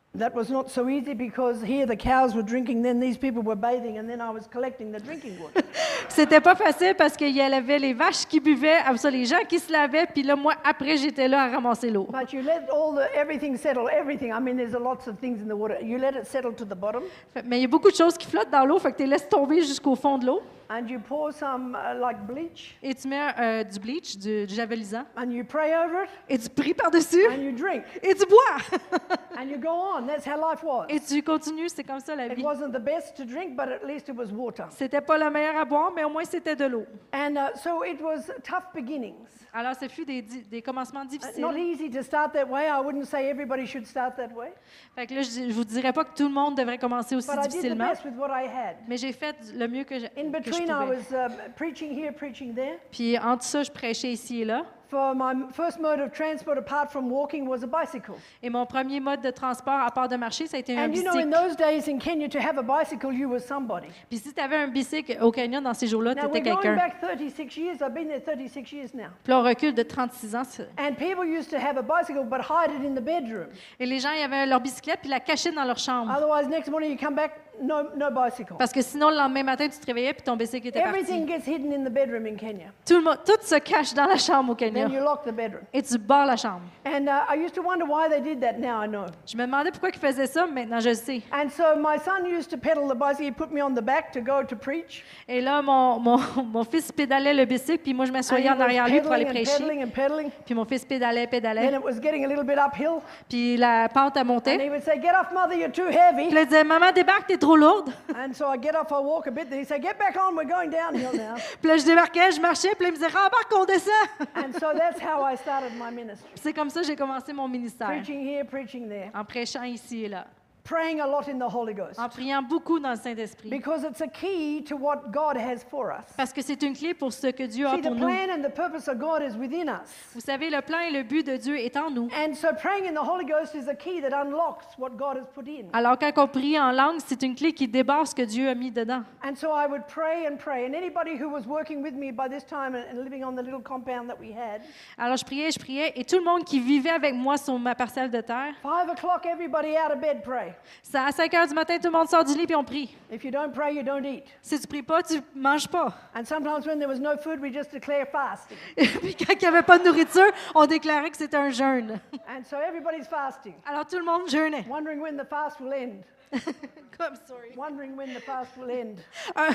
that was not so easy because here the cows were drinking, then these people were bathing, and then I was collecting the drinking water. C'était pas facile parce qu'il y avait les vaches qui buvaient, après ça, les gens qui se lavaient, puis là, moi, après, j'étais là à ramasser l'eau. But you let all the everything settle, everything. I mean, there's a lots of things in the water. You let it settle to the bottom, Fait- Mais il y a beaucoup de choses qui flottent dans l'eau, fait que tu les laisses tomber jusqu'au fond de l'eau. and you pour some uh, like bleach, Et tu mets euh, du bleach, du, du javelisant, and you pray over it, et tu pries par-dessus, and you drink, et tu bois. and you go on. That's how life was. Et tu continues, c'est comme ça la It vie. wasn't the best to drink, but at least it was water. C'était pas le meilleur à boire, mais au moins c'était de l'eau. And uh, so it was tough beginnings. Alors, ce fut des, di- des commencements Uh, difficiles. Not easy to start that way. I wouldn't say everybody should start that way. Fait que là, je, je vous dirais pas que tout le monde devrait commencer aussi But I did the difficilement, best with what I had. mais j'ai fait le mieux que je, In que je between, I pouvais. was um, preaching here, preaching there. Puis entre ça, je prêchais ici et là. For my m- first mode of transport, apart from walking, was a bicycle. Et mon premier mode de transport, à part de marcher, ça a été un And you know, in bicycle. those days in Kenya, to have a bicycle, you were somebody. Puis si tu avais un bicycle au Kenya dans ces jours-là, tu Now, étais we're going quelqu'un. back thirty-six years. I've been there thirty-six years now. Puis là, on recule de trente-six ans. c'est- And people used to have a bicycle, but hide it in the bedroom. Et les gens, ils avaient leur bicyclette puis la cachaient dans leur chambre. Otherwise, next morning you come back, no, no bicycle. Parce que sinon, le lendemain matin, tu te réveillais puis ton bicycle était Everything parti. gets hidden in the bedroom in Kenya. Tout, le monde, tout se cache dans la chambre au Kenya. Then you lock the bedroom. Et tu barres la chambre. And uh, I used to wonder why they did that. Now I know. Je me demandais pourquoi ils faisaient ça, mais maintenant je le sais. And so my son used to pedal the bicycle. He put me on the back to go to preach. Et là, mon, mon, mon fils pédalait le bicycle, puis moi, je And m'assoyais he en was arrière lui pour aller pedaling and prêcher. pedaling and pedaling. Puis mon fils pédalait, Then pédalait. it was getting a little bit uphill. Puis la pente a And monté. he would say, "Get off, mother, you're too Puis heavy." là, il disait, maman, débarque, t'es trop lourde. And so I get off, I walk a bit. Then he say, "Get back on, we're going downhill now." Puis là, je débarquais, je marchais, puis là, il me disait, rembarque, on descend. And so that's how I started my ministry. C'est comme ça que j'ai commencé mon ministère, Preaching here, preaching there. en prêchant ici et là, Praying a lot in the Holy Ghost. en priant beaucoup dans le Saint-Esprit. Because it's a key to what God has for us. Parce que c'est une clé pour ce que Dieu a See, the pour nous. plan and the purpose of God is within us. Vous savez, le plan et le but de Dieu est en nous. And so praying in the Holy Ghost is a key that unlocks what God has put in. Alors, quand on prie en langue, c'est une clé qui débarre ce que Dieu a mis dedans. And so I would pray and pray. And anybody who was working with me by this time and and living on the little compound that we had, Alors, je priais, je priais, et tout le monde qui vivait avec moi sur ma parcelle de terre, five o'clock, everybody out of bed pray. ça, à cinq heures du matin, tout le monde sort du lit puis on prie. If you don't pray, you don't eat. Si tu pries pas, tu manges pas. And sometimes when there was no food, we just declare fasting. Et puis quand il n'y avait pas de nourriture, on déclarait que c'était un jeûne. And so everybody's fasting, Alors tout le monde jeûnait. wondering when the fast will end. Comme, sorry. Wondering when the fast will end. Un,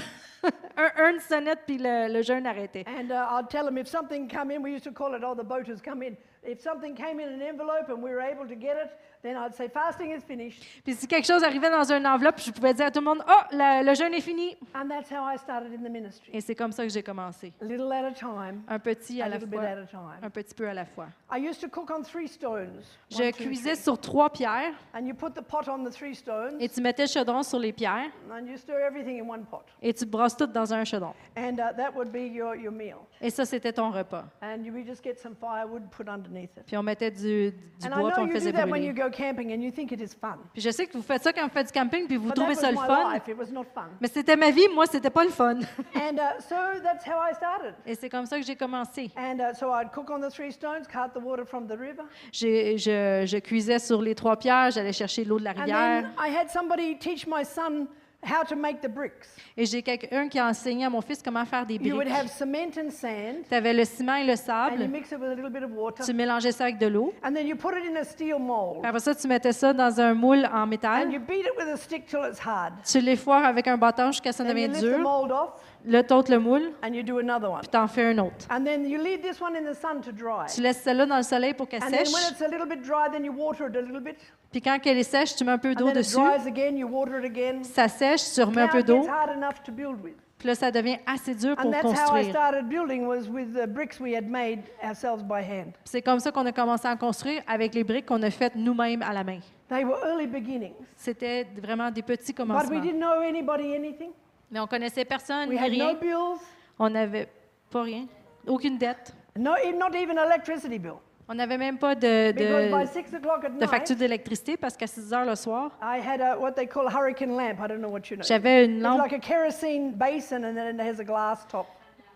un, une sonnette puis le, le jeûne arrêtait. And uh, I'd tell them if something come in, we used to call it, oh, the boat has come in. If something came in an envelope and we were able to get it, then I'd say, fasting is finished. Puis si quelque chose arrivait dans une enveloppe, je pouvais dire à tout le monde, oh, la- le jeûne est fini. And that's how I started in the ministry. Et c'est comme ça que j'ai commencé. A little at a time, Un petit a à la little bit fois. at a time. Un petit peu à la fois. I used to cook on three stones. Je one, two, cuisais three. sur trois pierres And you put the pot on the three stones, et tu mettais le chaudron sur les pierres and you stir everything in one pot. et tu brosses tout dans un chaudron. And uh, that would be your, your meal. Et ça, c'était ton repas. And you would just get some firewood, put underneath it. Puis on mettait du, du And I bois puis know on le you faisait do that when brûler. you go camping and you think it is fun. Puis je sais que vous faites ça quand vous faites du camping puis vous But trouvez that ça was le my fun. life. It was not fun. Mais c'était ma vie, moi, c'était pas le fun. And uh, so that's how I started. Et c'est comme ça que j'ai commencé. And uh, so I'd cook on the three stones, cart the water from the river. J'ai- je, je cuisais sur les trois pierres, j'allais chercher l'eau de la And rivière. then I had somebody teach my son how to make the bricks. Et j'ai quelqu'un qui a enseigné à mon fils comment faire des You would briques. have cement and sand, Tu avais le ciment et le and you sable, mix it with a little bit of water. tu mélangeais ça avec de l'eau. And then you put it in a steel mold. Puis après ça, tu mettais ça dans un moule en And métal. you beat it with a stick till it's hard. Tu l'effoires avec un bâton jusqu'à ce que ça Then you devienne lift the dur. mold off, Là, t'ôtes le moule, and you do another one. puis t'en fais un autre. And then you leave this one in the sun to dry. Tu laisses celle-là dans le soleil pour qu'elle And then sèche. when it's a little bit dry, then you water it a little bit. Puis quand elle est sèche, tu mets un peu And d'eau then it dessus. dries again, you water it again. Ça sèche, tu remets un Now peu it d'eau. gets hard enough to build with. Puis là, ça devient assez dur And pour that's how I construire. started building, was with the bricks we had made ourselves by hand. Puis c'est comme ça qu'on a commencé à construire avec les briques qu'on a faites nous-mêmes à la main. They were early beginnings. C'était vraiment des petits But we commencements. didn't know anybody anything. Mais on connaissait personne, We ni had no rien. bills, On n'avait pas rien, aucune dette. no, even- not even electricity bill. On n'avait même pas de, Because by de, six o'clock at de night, facture d'électricité parce qu'à six heures le soir, I had a, what they call a hurricane lamp. I don't know what you know. j'avais une It's lampe, like a kerosene basin, and then it has a glass top.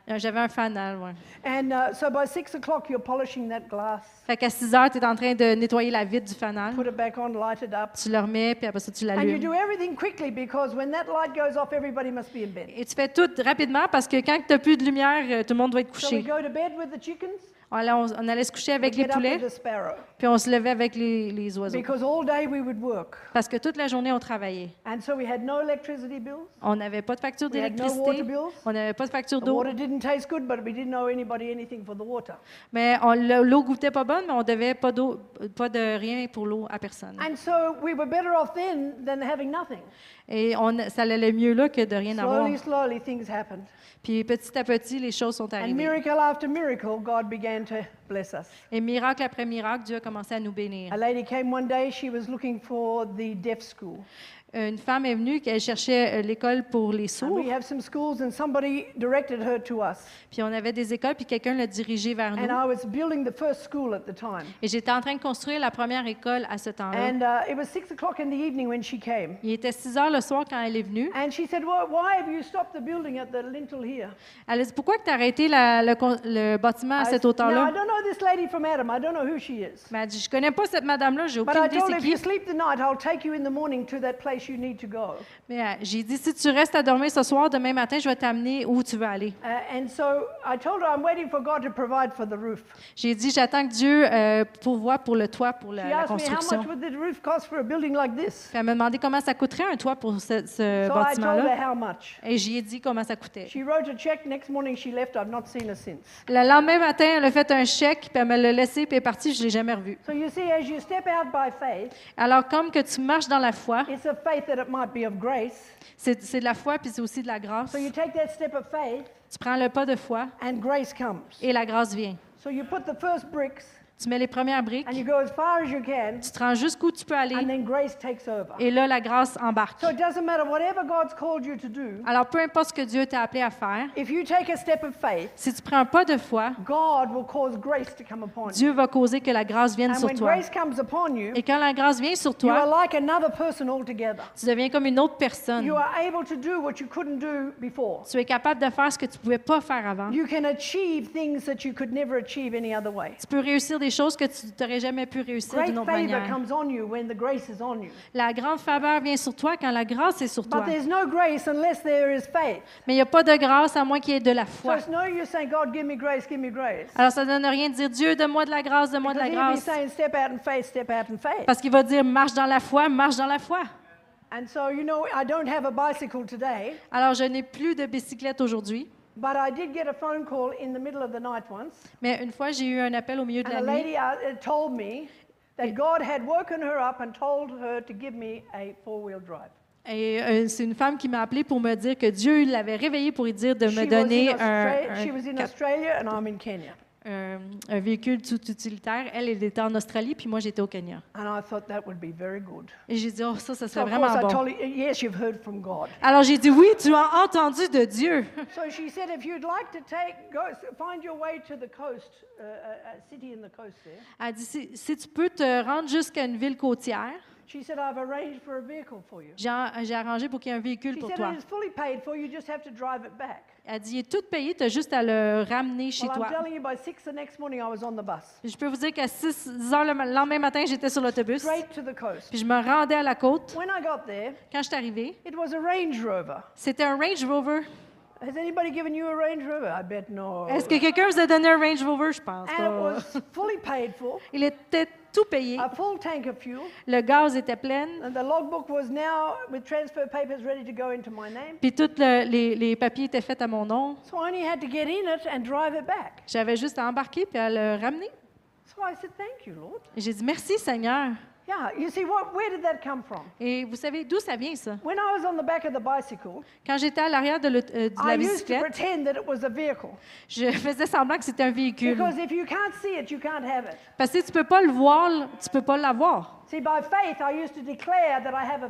Euh, J'avais un fanal, ouais. And uh, so by six o'clock, you're polishing that glass. Fait qu'à six heures, tu es en train de nettoyer la vitre du fanal. Put it back on, light it up. Tu le remets, puis après ça, tu And you l'allumes. do everything quickly because when that light goes off, everybody must be in bed. Et tu fais tout rapidement parce que quand tu n'as plus de lumière, euh, tout le monde doit être So we couché. go to bed with the chickens, On allait, on- on allait se coucher avec we les get up with poulets, the sparrow. puis on se levait avec les, les oiseaux. Because all day we would work. Parce que toute la journée, on travaillait. And so we had no electricity bills. On n'avait pas de facture We had no water d'électricité, bills. on n'avait pas de facture The d'eau, water didn't taste good, but we didn't owe anybody anything for the water. mais on- le- l'eau goûtait pas bonne, mais on devait pas d'eau, pas de rien pour l'eau à personne. And so we were better off then than having nothing. Et on, ça allait mieux là que de rien avoir. Slowly, slowly, things happened. Puis petit à petit, les choses sont And arrivées. miracle after miracle, God began to bless us. Et miracle après miracle, Dieu a commencé à nous bénir. A lady came one day, she was looking for the deaf school. Une femme est venue, qu'elle cherchait euh, l'école pour les And sourds. we have some schools, and somebody directed her to us. Puis on avait des écoles, puis quelqu'un l'a dirigée vers And nous. I was building the first school at the time. Et j'étais en train de construire la première école à ce temps-là. And uh, it was six o'clock in the evening when she came. Il était six heures le soir quand elle est venue. And she said, well, why have you stopped the building at the lintel here? Elle a dit, pourquoi tu as arrêté la- le, con- le bâtiment à I cette s- Now, I hauteur-là? don't know this lady from Adam. I don't know who she is. Mais elle dit, je connais pas cette madame-là, j'ai But aucune I idée told her, c'est if qui. you sleep the night, I'll take you in the morning to that place you need to go. Mais euh, j'ai dit, si tu restes à dormir ce soir, demain matin, je vais t'amener où tu veux aller. Uh, and so I told her, I'm waiting for God to provide for the roof. J'ai dit, j'attends que Dieu euh, pourvoie pour le toit, pour la, She la asked me, how construction. much would the roof cost for a building like this? Puis elle m'a demandé comment ça coûterait un toit pour ce, ce So I told bâtiment-là. her how much. Et j'y ai dit comment ça coûtait. She wrote a check. Next morning, she left. I've not seen her since. Le lendemain matin, elle a fait un chèque, puis elle me l'a laissé, puis elle est partie, je ne l'ai jamais revue. So you see, as you step out by faith, Alors, comme que tu marches dans la foi, it's a faith that it might be of grace. c'est c'est de la foi, puis c'est aussi de la grâce. So you take that step of faith, Tu prends le pas de foi, and grace comes. et la grâce vient. So you put the first bricks, Tu mets les premières briques, and you go as far as you can, tu te rends jusqu'où tu peux and aller, then grace takes over. et là, la grâce embarque. So it doesn't matter whatever God's called you to do. Alors, peu importe ce que Dieu t'a appelé à faire, If you take a step of faith, si tu prends un pas de foi, God will cause grace to come upon you. Dieu va causer que la grâce vienne And sur when toi. grace comes upon you, Et quand la grâce vient sur you are toi, like another person altogether. tu deviens comme une autre personne. You are able to do what you couldn't do before. Tu es capable de faire ce que tu ne pouvais pas faire avant. You can achieve things that you could never achieve any other way. Tu peux réussir des choses que tu n'aurais jamais pu réussir Great d'une autre favor manière. comes on you when the grace is on you. La grande faveur vient sur toi quand la grâce est sur toi. But there's no grace unless there is faith. Mais il n'y a pas de grâce à moins qu'il y ait de la So foi. it's no use saying, God, give me grace, give me grace. Alors ça ne donne rien de dire Dieu, donne-moi de la grâce, donne-moi de Because la he'll be grâce. saying, step out in faith, step out in faith. Parce qu'il va dire marche dans la foi, marche dans la foi. And so, you know, I don't have a bicycle today, Alors je n'ai plus de bicyclette aujourd'hui, but I did get a phone call in the middle of the night once. mais une fois j'ai eu un appel au milieu de And la a nuit lady uh, told me that God had woken her up and told her to give me a four-wheel drive. et euh, c'est une femme qui m'a appelé pour me dire que Dieu l'avait réveillée pour lui dire de She me was donner in un, Austra- un she was in cap- Australia and I'm in Kenya. un- un véhicule tout utilitaire. Elle, elle était en Australie, puis moi j'étais au Kenya. And I thought that would be very good. Et j'ai dit, oh ça, ça So serait of vraiment course I bon. told her, yes, you've heard from God. Alors j'ai dit, oui, tu as entendu de Dieu. So she said, if you'd like to take, go, find your way to the coast, uh, a, a city in the coast there. Elle dit, si, si tu peux te rendre jusqu'à une ville côtière, She said, I've arranged for a vehicle for you. j'ai j'ai arrangé pour qu'il y ait un véhicule She pour said, toi. it is fully paid for, you just have to drive it back. Elle dit, il est tout payé, tu as juste à le ramener chez Well, I'm toi. telling you, by six the next morning, I was on the bus, Je peux vous dire qu'à six heures le ma- lendemain matin, j'étais sur l'autobus, straight to the coast. puis je me rendais à la côte. When I got there, Quand je suis arrivée, it was a Range Rover. c'était un Range Rover. Has anybody given you a Range Rover? I bet no. Est-ce que quelqu'un vous a donné un Range Rover? Je pense And it pas. was fully paid for, Il était tout payé. a full tank of fuel, Le gaz était plein. and the logbook was now with transfer papers ready to go into my name. Puis tous le- les, les papiers étaient faits à mon nom. So I only had to get in it and drive it back. J'avais juste à embarquer puis à le ramener. So I said, thank you, Lord. Et j'ai dit, merci Seigneur. Yeah, you see, what, where did that come from? Et vous savez d'où ça vient, ça? When I was on the back of the bicycle, Quand j'étais à l'arrière de, l'aut- euh, de la I used to bicyclette, pretend that it was a vehicle. je faisais semblant que c'était un véhicule. Because if you can't see it, you can't have it. Parce que si tu peux pas le voir, tu peux pas l'avoir. See, by faith, I used to declare that I have a vehicle.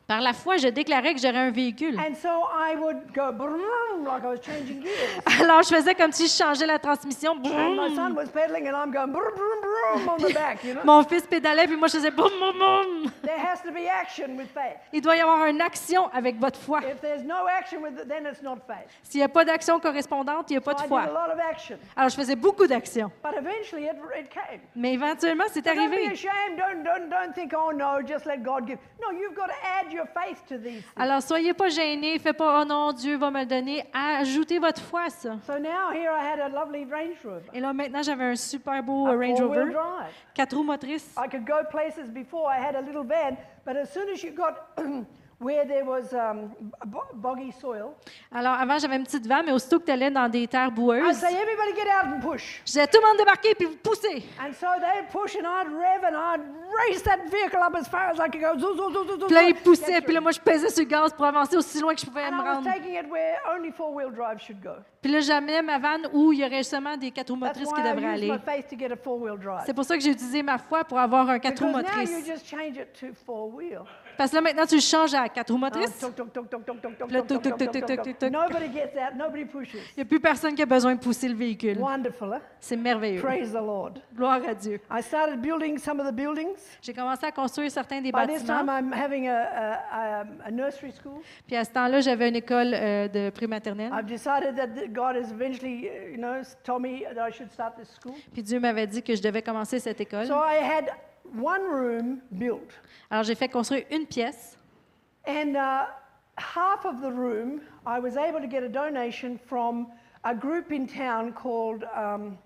Par la foi, je déclarais que j'aurais un véhicule. And so I would go brum, like I was changing gears. Alors, je faisais comme si je changeais la transmission. And my son was pedaling and I'm going brum, brum, brum on the back, you know. Mon fils pédalait, puis moi, je faisais boum, boum, boum. There has to be action with faith. Il doit y avoir une action avec votre foi. If there's no action with it, then it's not faith. S'il n'y a pas d'action correspondante, il n'y a pas So de I foi. did a lot of action. Alors, je faisais beaucoup d'actions. But eventually it, it came. Mais éventuellement, c'est So don't be arrivé. ashamed. Don't, don't, don't think, oh no, just let God give. No, you've got to add your faith to these things. Alors, soyez pas gênés, faites pas, oh non, Dieu va me le donner. Ajoutez votre foi à ça. So now here I had a lovely Range Rover. Et là, maintenant, j'avais un super beau A euh, Range four-wheel Rover, drive. quatre roues motrices. I could go places before. I had a little van, but as soon as you got where there was um, bo- boggy soil, Alors, avant, j'avais une petite vanne, mais aussitôt que tu allais dans des terres I'd boueuses, say, everybody get out and push. je disais, tout le monde débarquer puis vous poussez. And so they'd push and I'd rev and I'd race that vehicle up as far as I could go. Zoo, zoo, zoo, zoo, zoo, Puis là, zoo, ils poussaient, get puis là, through. moi, je pesais sur le gaz pour avancer aussi loin que je pouvais And me I was rendre. taking it where only four-wheel drive should go. Puis là, j'amenais ma vanne où il y aurait seulement des quatre roues That's motrices why qui I devraient used aller. my faith to get a four-wheel drive. C'est pour ça que j'ai utilisé ma foi pour avoir un quatre roues Because now you motrices. just change it to four-wheel. Parce que là, maintenant, tu le changes à quatre roues Uh, motrices. tuk, tuk, tuk, tuk, tuk, tuk, tuk, Le tuk, tuk, tuk, tuk, tuk, tuk, tuk, tuk, tuk. tuk. Nobody gets out. Nobody pushes. Il n'y a plus personne qui a besoin de pousser le véhicule. Wonderful, huh? C'est merveilleux. Praise the Lord. Gloire à Dieu. I started building some of the buildings. J'ai commencé à construire certains des By this time, bâtiments. I'm having a, a, a, a nursery school. Puis à ce temps-là, j'avais une école euh, de prématernelle. I've decided that th- God has eventually, uh, you know, s- told me that I should start this school. Puis Dieu m'avait dit que je devais commencer cette école. So I had one room built, Alors, j'ai fait construire une pièce. and uh, half of the room I was able to get a donation from a group in town called um,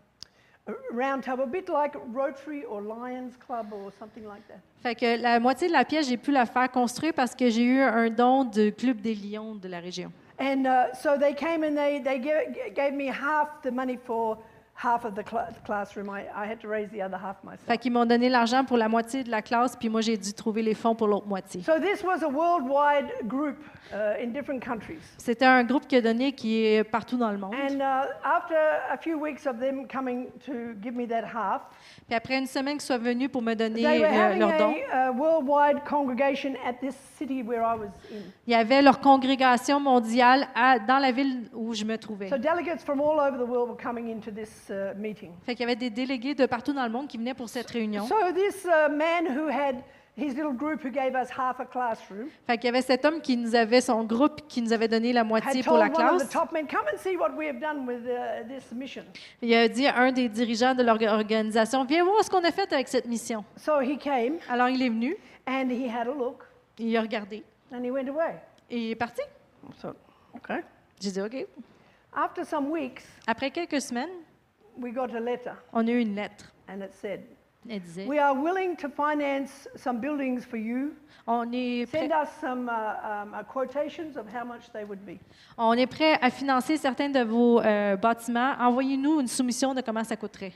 Round Table, a bit like Rotary or Lions Club or something like that. Fait que la moitié de la pièce, j'ai pu la faire construire parce que j'ai eu un don du Club des Lions de la région. And uh, so they came and they, they gave, gave me half the money for half of the cl- classroom. I, I had to raise the other half myself. Fait qu'ils m'ont donné l'argent pour la moitié de la classe, puis moi, j'ai dû trouver les fonds pour l'autre moitié. So this was a worldwide group uh, in different countries. C'était un groupe qui a donné qui est partout dans le monde. And uh, after a few weeks of them coming to give me that half, Puis après une semaine qu'ils soient venus pour me donner they were euh, having leur don, a, uh worldwide congregation at this city where I was in. il y avait leur congrégation mondiale à- dans la ville où je me trouvais. So delegates from all over the world were coming into this uh, meeting. Fait qu'il y avait des délégués de partout dans le monde qui venaient pour cette réunion. So this uh, man who had his little group who gave us half a classroom Fait qu'il y avait cet homme qui nous avait son groupe qui nous avait donné la moitié had pour la told one of the classe. top men, come and see what we have done with uh, this mission. Il a dit à un des dirigeants de l'organisation, viens voir ce qu'on a fait avec cette mission. So he came Alors il est venu, and he had a look il a regardé and he went away. et il est parti. So, okay. J'ai dit OK. After some weeks, Après quelques semaines, we got a letter on a eu une lettre. and it said, Elle disait, we are willing to finance some buildings for you. on est prêt, Send us some uh, um, uh, quotations of how much they would be. on est prêt à financer certains de vos euh, bâtiments. Envoyez-nous une soumission de comment ça coûterait.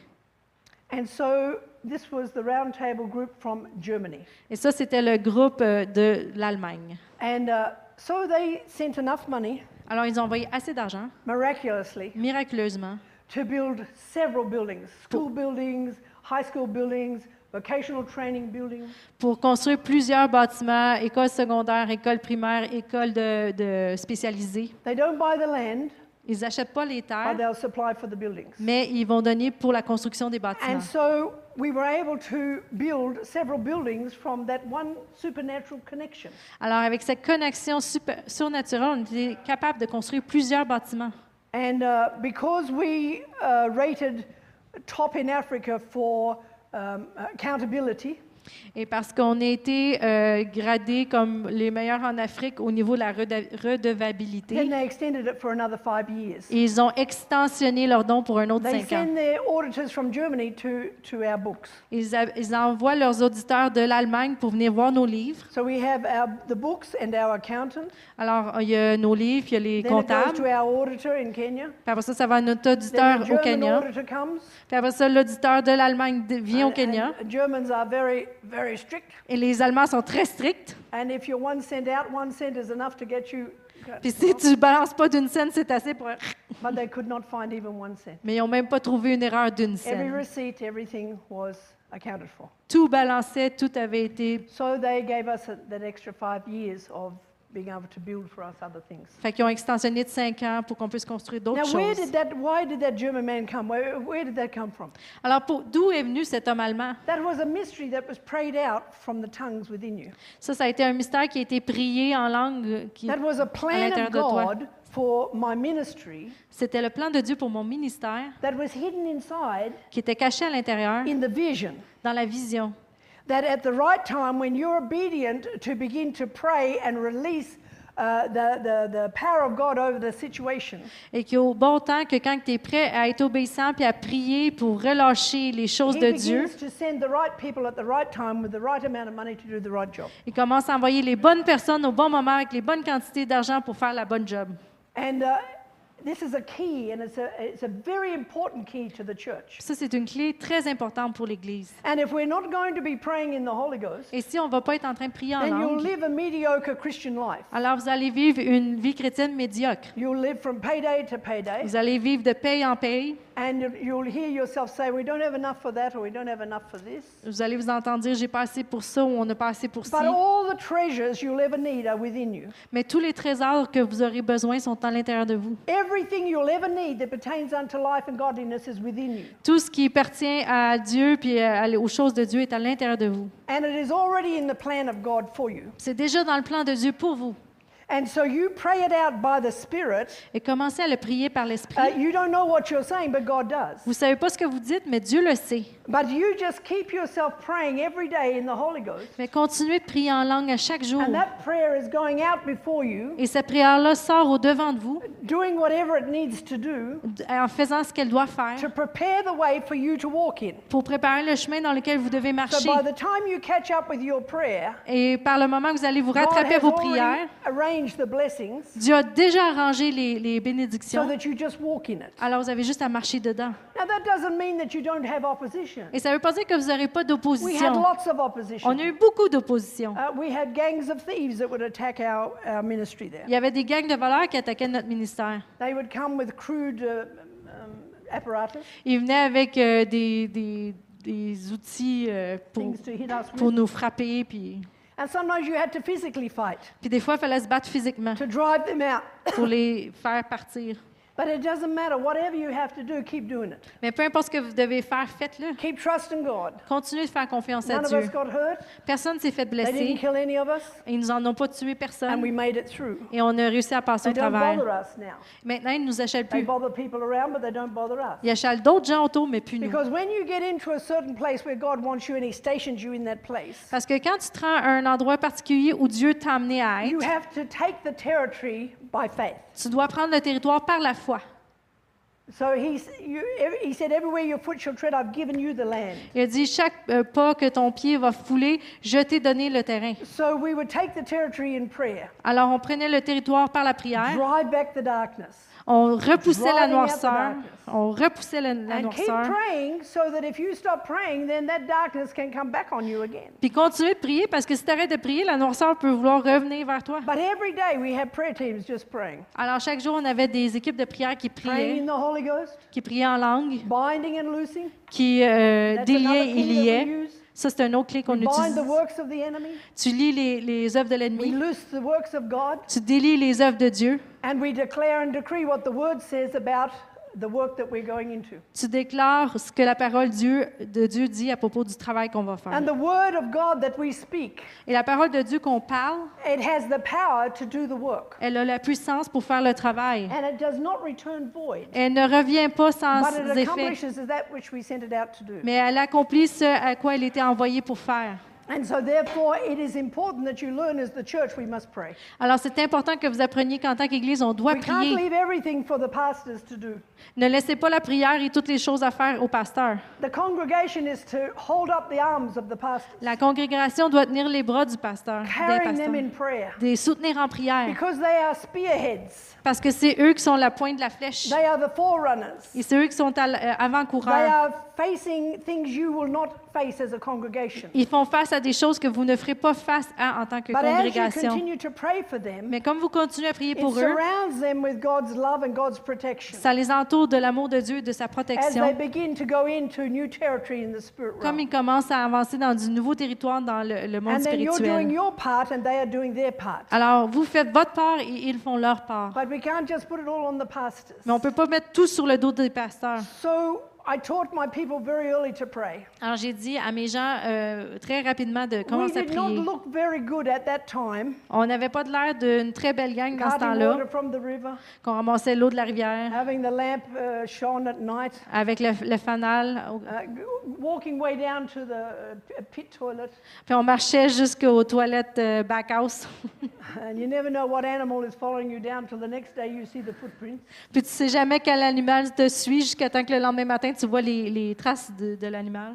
And so this was the round table group from Germany. Et ça, c'était le groupe euh, de l'Allemagne. And uh, so they sent enough money, Alors, ils ont envoyé assez d'argent, miraculously, miraculeusement, to build several buildings, school buildings, high school buildings, vocational training buildings. pour construire plusieurs bâtiments, écoles secondaires, écoles primaires, écoles de, de spécialisées. They don't buy the land, Ils n'achètent pas les but terres, they'll supply for the buildings. mais ils vont donner pour la construction des bâtiments. And so we were able to build several buildings from that one supernatural connection. Alors, avec cette connexion super- surnaturelle, on était capable de construire plusieurs bâtiments. And uh, because we uh, rated top in Africa for um, accountability, Et parce qu'on a été euh, gradés comme les meilleurs en Afrique au niveau de la reda- then redevabilité, they extended it for another five years. et ils ont extensionné leur don pour un autre They cinq ans. send their auditors from Germany to, to our books. Ils, a- ils envoient leurs auditeurs de l'Allemagne pour venir voir nos livres. So we have our, the books and our accountant. Alors, il y a nos livres, il y a les Then it goes comptables. to our auditor in Kenya. Puis après ça, ça va à notre Then auditeur the au German Kenya. auditor comes. Puis après ça, l'auditeur de l'Allemagne d- vient au And- Kenya. and Germans are very very strict. Et les Allemands sont très stricts. And if you're one cent out, one cent is enough to get you. Puis si tu ne balances pas d'une scène, c'est assez pour... But they could not find even one cent. Mais ils n'ont même pas trouvé une erreur d'une Every scène. receipt, everything was accounted for. Tout balançait, tout avait été... So they gave us a, that extra five years of being able to build for us other things. Fait qu'ils ont extensionné de cinq ans pour qu'on puisse construire d'autres Now, where choses. did that? Why did that German man come? Where, where did that come from? Alors, pour- d'où est venu cet homme allemand? That was a mystery that was prayed out from the tongues within you. Ça, ça a été un mystère qui a été prié en langue. euh, Qui, That was a plan l'intérieur of de toi. God for my ministry C'était le plan de Dieu pour mon ministère that was hidden inside qui était caché à l'intérieur, in the vision. dans la vision. That at the right time, when you're obedient to begin to pray and release uh, the, the, the power of God over the situation, Et qu'au bon temps, que quand tu es prêt à être obéissant puis à prier pour relâcher les choses He de Dieu, begins to send the right people at the right time with the right amount of money to do the right job. il commence à envoyer les bonnes personnes au bon moment avec les bonnes quantités d'argent pour faire la bonne job. And uh, this is a key, and it's a, it's a very important key to the church. Ça, c'est une clé très importante pour l'Église. And if we're not going to be praying in the Holy Ghost, Et si on ne va pas être en train de prier en then you'll langue, live a mediocre Christian life. alors vous allez vivre une vie chrétienne médiocre. You'll live from payday to payday, Vous allez vivre de paye en paye. and you'll- you'll hear yourself say, we don't have enough for that, or we don't have enough for this. Vous allez vous entendre dire, j'ai pas assez pour ça ou on n'a pas assez pour ci. But all the treasures you'll ever need are within you. Mais tous les trésors que vous aurez besoin sont à l'intérieur de vous. Everything you'll ever need that pertains unto life and godliness is within you. Tout ce qui appartient à Dieu puis à- aux choses de Dieu est à l'intérieur de vous. And it is already in the plan of God for you. C'est déjà dans le plan de Dieu pour vous. And so you pray it out by the Spirit. Et commencez à le prier par Uh, l'Esprit. you don't know what you're saying, but God does. Vous ne savez pas ce que vous dites, mais Dieu le sait. But you just keep yourself praying every day in the Holy Ghost. Mais continuez de prier en langue à chaque jour. And that prayer is going out before you, Et cette prière-là sort au devant de vous doing whatever it needs to do en faisant ce qu'elle doit faire to prepare the way for you to walk in. pour préparer le chemin dans lequel vous devez So marcher. by the time you catch up with your prayer, Et par le moment que vous allez vous God rattraper à has vos already prières, arranged the blessings Dieu a déjà arrangé les, les so bénédictions. that you just walk in it. Alors vous avez juste à marcher dedans. Now that doesn't mean that you don't have opposition. Et ça ne veut pas dire que vous n'aurez pas We had d'opposition. lots of opposition. On a eu beaucoup d'opposition. Uh, we had gangs of thieves that would attack our, our ministry there. Il y avait des gangs de voleurs qui attaquaient notre ministère. They would come with crude uh, um, apparatus, Ils venaient avec euh, des, des, des outils euh, pour, things to hit us pour with. nous frapper. Puis, And sometimes you had to physically fight puis des fois, il fallait se battre physiquement to drive them out. pour les faire partir. But it doesn't matter. Whatever you have to do, keep doing it. Mais peu importe ce que vous devez faire, faites-le. Keep trusting God. Continuez de faire confiance à None of Dieu. us got hurt. Personne ne s'est fait They didn't blesser. kill any of us. Ils nous en ont pas tué And personne. we made it through. Et on a réussi à passer They au don't travers. bother us now. Maintenant, ils ne nous achalent They plus. bother people around, but they don't bother us. Ils achalent d'autres gens autour, mais plus nous. Because when you get into a certain place where God wants you and He stations you in that place, Parce que quand tu te rends à un endroit particulier où Dieu t'a amené à you être, have to take the territory by faith. tu dois prendre le territoire par la foi. So he's, you, he said, everywhere your foot shall tread, I've given you the land. Il a dit, chaque euh, pas que ton pied va fouler, je t'ai donné le terrain. So we would take the territory in prayer, Alors, on prenait le territoire par la prière, drive back the darkness, on repoussait la Driving out the noirceur, darkness. on repoussait la, la and keep noirceur, praying so that if you stop praying, then that darkness can come back on you again. puis continuer de prier, parce que si tu arrêtes de prier, la noirceur peut vouloir revenir vers toi. But every day we have prayer teams just praying, Alors, chaque jour, on avait des équipes de prière qui praying priaient, in the Holy Ghost, qui priaient en langue, binding and loosing. qui euh, That's déliaient another et key that liaient. we use. Ça, c'est un autre clé qu'on We bind utilise. the works of the enemy. Tu lis les, les œuvres de We l'ennemi, loose the works of God. tu délies les œuvres de Dieu, And we declare and decree what the word says about the work that we're going into. tu déclares ce que la parole Dieu, de Dieu dit à propos du travail qu'on va faire. And the word of God that we speak, Et la parole de Dieu qu'on parle, it has the power to do the work. elle a la puissance pour faire le travail. And it does not return void, Elle ne revient pas sans but it effet, accomplishes that which we sent it out to do. mais elle accomplit ce à quoi elle était envoyée pour faire. And so therefore it is important that you learn as the church we must pray. Alors, c'est important que vous appreniez qu'en tant qu'Église, on doit We can't prier. leave everything for the pastors to do. Ne laissez pas la prière et toutes les choses à faire au pasteur. The congregation is to hold up the arms of the pastors, La congrégation doit tenir les bras du pasteur, des carrying them pasteurs, in prayer, de les soutenir en prière, because they are spearheads. parce que c'est eux qui sont la pointe de la flèche. They are the forerunners. Et c'est eux qui sont à l- euh, They avant-coureurs. are facing things you will not face as a congregation. Ils font face à des choses que vous ne ferez pas face à en tant que But as you congrégation. continue to pray for them, Mais comme vous continuez à prier it pour eux, surrounds them with God's love and God's protection ça les entoure de l'amour de Dieu et de sa as they protection. begin to go into new territory in the spirit Comme realm. ils commencent à avancer dans du nouveau territoire dans le, le monde And then you're doing spirituel. your part and they are doing their part. Alors, vous faites votre part et ils font leur part. But we can't just put it all on the pastors. Mais on ne peut pas mettre tout sur le dos des pasteurs. So I taught my people very early to pray. Alors, j'ai dit à mes gens euh, très rapidement de We commencer à did not prier. look very good at that time. On n'avait pas de l'air d'une très belle gang dans ce Carting temps-là, water from the river, qu'on ramassait l'eau de la rivière having the lamp uh, shone at night, avec le, le fanal. au- uh, g- walking way down to the uh, pit toilet. Puis on marchait jusqu'aux toilettes euh, back house. And you never know what animal is following you down till the next day you see the footprints. Puis tu sais jamais quel animal te suit jusqu'à temps que le lendemain matin, tu vois les, les traces de, de l'animal.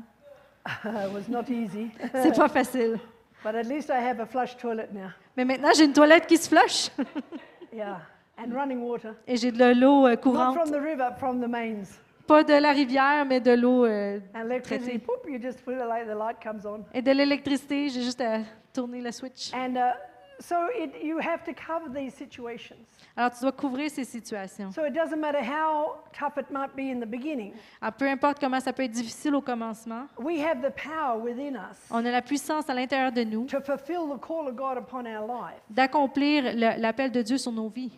It was not easy. C'est pas facile. But at least I have a flush toilet now. Mais maintenant, j'ai une toilette qui se flush Yeah. And running water. et j'ai de l'eau euh, Not courante. from the river, from the mains. Pas de la rivière, mais de l'eau euh, And electricity, traitée. poop, you just feel like the light comes on. Et de l'électricité, j'ai juste à tourner le switch. And uh, so it, you have to cover these situations. Alors, tu dois couvrir ces situations. So it doesn't matter how tough it might be in the beginning. Alors, peu importe comment ça peut être difficile au commencement, We have the power within us on a la puissance à l'intérieur de nous to fulfill the call of God upon our life d'accomplir le- l'appel de Dieu sur nos vies,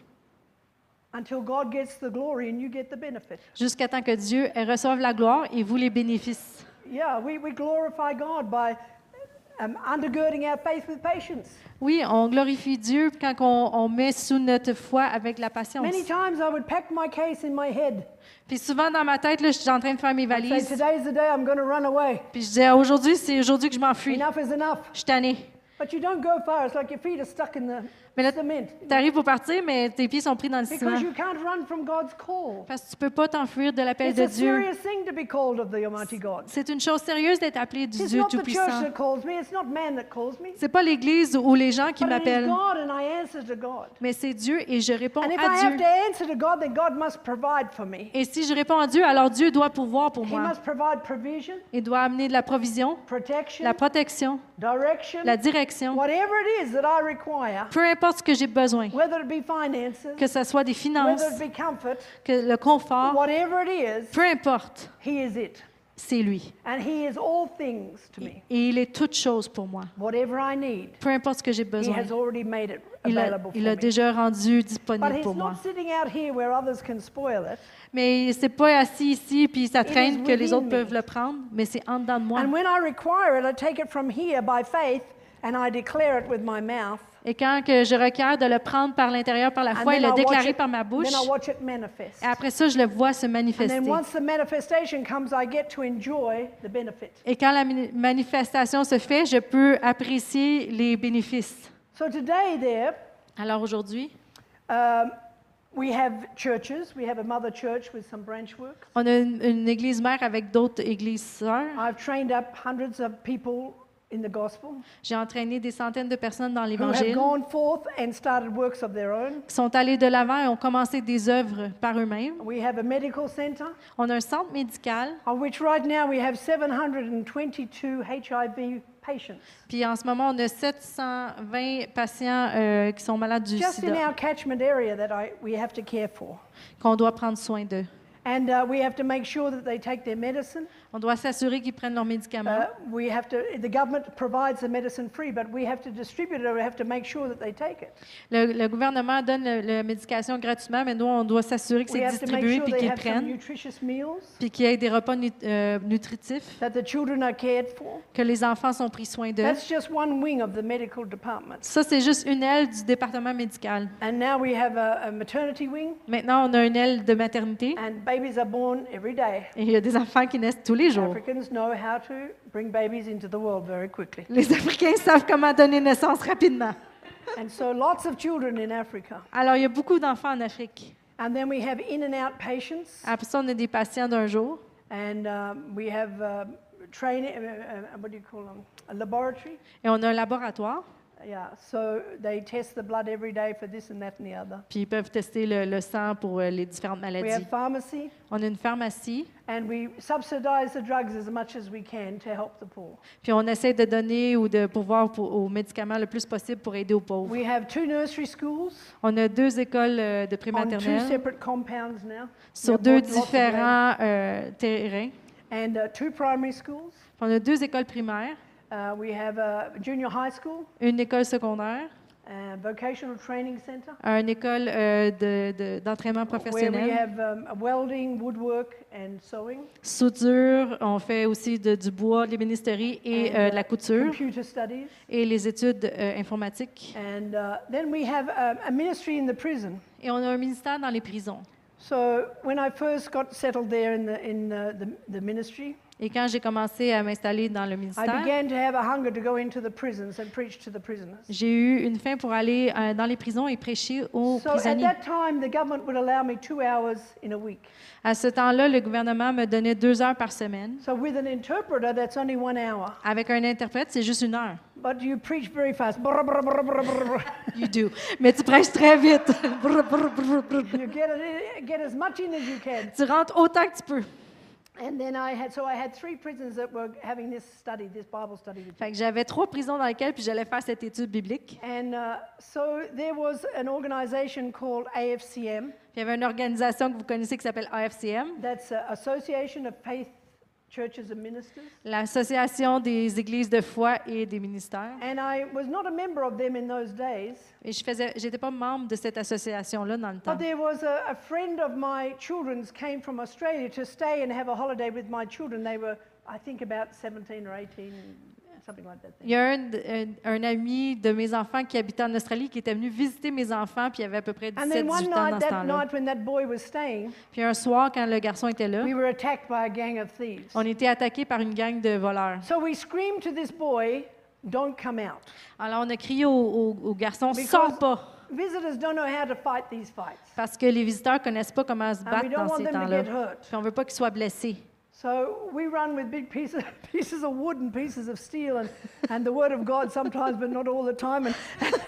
until God gets the glory and you get the benefit. jusqu'à temps que Dieu reçoive la gloire et vous les bénéfices. Yeah, we, we glorify God by um, undergirding our faith with patience. Oui, on glorifie Dieu quand on, on met sous notre foi avec la patience. Many times I would pack my case in my head. Puis souvent dans ma tête, là, je suis en train de faire mes I'd say, valises. today's the day I'm going to run away. Puis je disais, Ah, aujourd'hui, c'est aujourd'hui que je m'enfuis. Enough is enough. Je suis tannée. But you don't go far. It's like your feet are stuck in the Mais là, cement. tu arrives pour partir, mais tes pieds sont pris dans le ciment. Because you can't run from God's call. Parce que tu peux pas t'enfuir de l'appel It's de a Dieu. serious thing to be called of the Almighty God. C'est une chose sérieuse d'être appelé du It's Dieu not the church Tout-Puissant. that calls me. It's not man that calls me. C'est pas l'Église ou les gens qui But it is m'appellent, God and I answer to God. mais c'est Dieu et je réponds And if à I have Dieu. to answer to God, then God must provide for me. Et si je réponds à Dieu, alors Dieu doit pourvoir pour He moi. must provide provision, Il doit amener de la provision, protection, la protection, direction, la direction, whatever it is that I require, peu importe ce que j'ai besoin, whether it be finances, que ce soit des finances, whether it be comfort, que le confort, whatever it is, peu importe, He is it. c'est lui. And He is all things to me. Et il est toute chose pour moi. Whatever I need, Peu importe ce que j'ai He besoin, has already made it il a, available il for a me. déjà rendu But disponible He's pour moi. not sitting out here where others can spoil it. Mais c'est pas assis ici puis ça It traîne is que les within autres me. peuvent le prendre, mais c'est en dedans de moi. And when I require it, I take it from here by faith and I declare it with my mouth. Et quand que je requiers de le prendre par l'intérieur, par la And foi et then le I watch déclarer it- par ma bouche, Then I watch it manifest. et après ça, je le vois se And manifester. then once the manifestation comes, I get to enjoy the benefit. Et quand la mani- manifestation se fait, je peux apprécier les bénéfices. So today there, Alors aujourd'hui, um, we have churches. We have a mother church with some branch work. on a une, une église mère avec d'autres églises sœurs. I've trained up hundreds of people in the gospel J'ai entraîné des centaines de personnes dans who have l'Évangile gone forth and started works of their own. qui sont allées de l'avant et ont commencé des œuvres par eux-mêmes. We have a medical center On a un centre médical, of which right now we have seven hundred twenty-two H I V patients. puis en ce moment, on a sept cent vingt patients euh, qui sont malades du Just in sida, our catchment area that I, we have to care for. qu'on doit prendre soin d'eux. And uh, we have to make sure that they take their medicine. On doit s'assurer qu'ils prennent leurs médicaments. Uh, we have to, the government provides the medicine free, but we have to distribute it, or we have to make sure that they take it. Le, le gouvernement donne le- la médication gratuitement, mais nous, on doit s'assurer que We c'est have to make distribué sure puis they qu'ils have some prennent, nutritious meals, puis qu'il y ait des repas nu- euh, nutritifs, that the children are cared for. que les enfants sont pris soin d'eux. That's just one wing of the medical department. Ça, c'est juste une aile du département médical. And now we have a, a maternity wing, Maintenant, on a une aile de maternité and babies are born every day. et il y a des enfants qui naissent tous les jours. Africans know how to bring babies into the world very quickly. Les Africains savent comment donner naissance rapidement. And so lots of children in Africa. Alors, il y a beaucoup d'enfants en Afrique. And then we have in and out patients. Après ça, on a des patients d'un jour. And um, we have uh, training, uh, uh, what do you call them? A laboratory. Et on a un laboratoire. Yeah, so they test the blood every day for this and that and the other. Puis ils peuvent tester le, le sang pour euh, les différentes We have maladies. pharmacy, On a une pharmacie. and we subsidize the drugs as much as we can to help the poor. Puis on essaie de donner ou de pourvoir pour, aux médicaments le plus possible pour aider aux pauvres. We have two nursery schools On a deux écoles euh, de on two prématernelle separate compounds now. sur We deux have bought lots of land. différents euh, terrains. And uh, two primary schools. On a deux écoles primaires, Uh, we have a junior high school, une école secondaire, a vocational training center, une école euh, de- de- d'entraînement where we professionnel, have um, welding, woodwork, and sewing, soudure, on fait aussi de- du bois, de l'ébénisterie et and, euh, uh, de la couture computer studies. et les études euh, informatiques. And uh, then we have um, a ministry in the prison. Et on a un ministère dans les prisons. So when I first got settled there in the, in uh, the, the ministry, Et quand j'ai commencé à m'installer dans le I ministère, began to have a hunger to go into the prisons and preach to the prisoners. j'ai eu une faim pour aller euh, dans les prisons et prêcher aux So at prisonniers. that time, the government would allow me two hours in a week. À ce temps-là, le gouvernement me donnait deux heures par semaine. So with an interpreter, that's only one hour. Avec un interprète, c'est juste une heure. But you preach very fast. Brr, brr, brr, brr, brr, brr. You do. Mais tu prêches très vite. Brr, brr, brr, brr. You get, it, get as much in as you can. Tu rentres autant que tu peux. And then I had, so I had three prisons that were having this study, this Bible study. with me. Fait que j'avais trois prisons dans lesquelles puis j'allais faire cette étude biblique. And uh, so there was an organization called A F C M. Puis il y avait une organisation que vous connaissez qui s'appelle A F C M, That's uh, Association of Faith Churches and Ministers. l'Association des églises de foi et des ministères. And I was not a member of them in those days, Et je faisais, j'étais pas membre de cette association-là dans le temps. but there was a, a friend of my children's came from Australia to stay and have a holiday with my children. They were, I think, about seventeen or eighteen, something like that. Il y a un, un, un ami de mes enfants qui habitait en Australie qui était venu visiter mes enfants, puis il avait à peu près And dix-sept then one dix-huit ans dans night, ce that temps-là. night when that boy was staying, Puis un soir, quand le garçon était là, we were attacked by a gang of thieves. on était attaqués par une gang de voleurs. So we screamed to this boy, "Don't come out." Alors on a crié au, au, au garçon, Because- sors pas, Visitors don't know how to fight these fights. parce que les visiteurs connaissent pas comment se And we battre don't dans want ces them to temps-là. get hurt. Puis on veut pas qu'ils soient blessés. So we run with big pieces, pieces of wood and pieces of steel and, and the word of God sometimes, but not all the time. And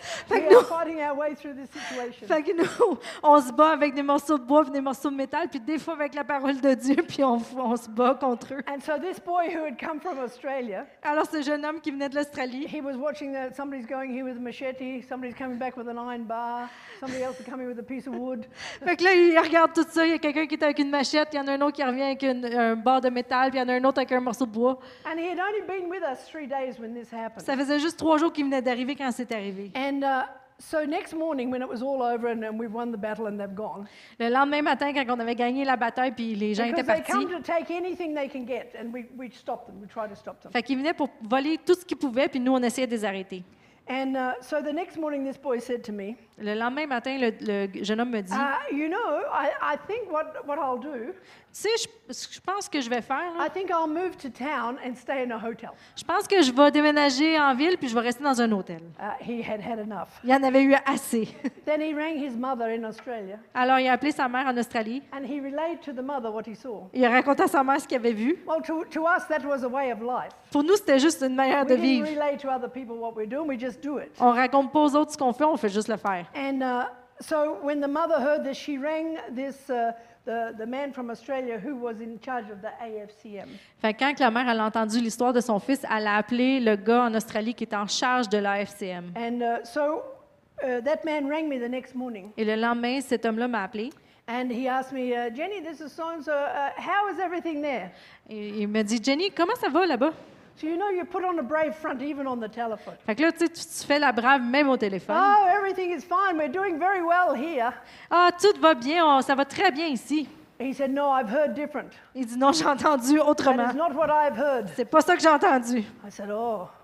we are fighting our way through this situation. Fait que nous, on se bat avec des morceaux de bois et des morceaux de métal, puis des fois avec la parole de Dieu, puis on, on se bat contre eux. And so this boy who had come from Australia, Alors ce jeune homme qui venait de l'Australie, he was watching that somebody's going here with a machete, somebody's coming back with an iron bar, somebody else is coming with a piece of wood. fait que là, il regarde tout ça, il y a quelqu'un qui est avec une machette, il y en a un autre qui revient avec une- un barre de métal, puis il y en a un autre avec un morceau de bois. And he had only been with us three days when this happened. Ça faisait juste trois jours qu'il venait d'arriver quand c'est arrivé. And uh, so next morning when it was all over and, and we've won the battle and they've gone, Le lendemain matin, quand on avait gagné la bataille, puis les gens étaient because they partis, come to take anything they can get and we, we stop them, we try to stop them. fait qu'ils venaient pour voler tout ce qu'ils pouvaient, puis nous, on essayait de les arrêter. And uh, so the next morning this boy said to me, Le lendemain matin, le, le jeune homme me dit, uh, you know, I, I think what, what I'll do, tu sais, je, je pense que je vais faire, là, I think I'll move to town and stay in a hotel. je pense que je vais déménager en ville, puis je vais rester dans un hôtel. Uh, he had had enough. Il y en avait eu assez. Then he rang his mother in Australia Alors, il a appelé sa mère en Australie. and he relayed to the mother what he saw. Il a raconté à sa mère ce qu'il avait vu. Well, to, to us, that was a way of life. Pour nous, c'était juste une manière de We didn't vivre. relay to other people what we're doing, we just do it. On raconte pas aux autres ce qu'on fait, on fait juste le faire. And uh, so when the mother heard this, she rang this, uh, the, the man from Australia who was in charge of the A F C M. Fait que quand que la mère elle a entendu l'histoire de son fils, elle a appelé le gars en Australie qui était en charge de l'A F C M. And uh, so uh, that man rang me the next morning. Et le lendemain, cet homme-là m'a appelé. And he asked me, uh, Jenny, this is so-and-so, uh, how is everything there? Et il m'a dit, Jenny, comment ça va là-bas? So you know you put on a brave front even on the telephone. Fait que là, tu sais, tu tu fais la brave même au téléphone. Oh, everything is fine. We're doing very well here. Ah, tout va bien, on- ça va très bien ici. He said, no, I've heard different. Il dit, non, j'ai entendu That autrement. is not what I've heard. C'est pas ça que j'ai entendu. I said, oh,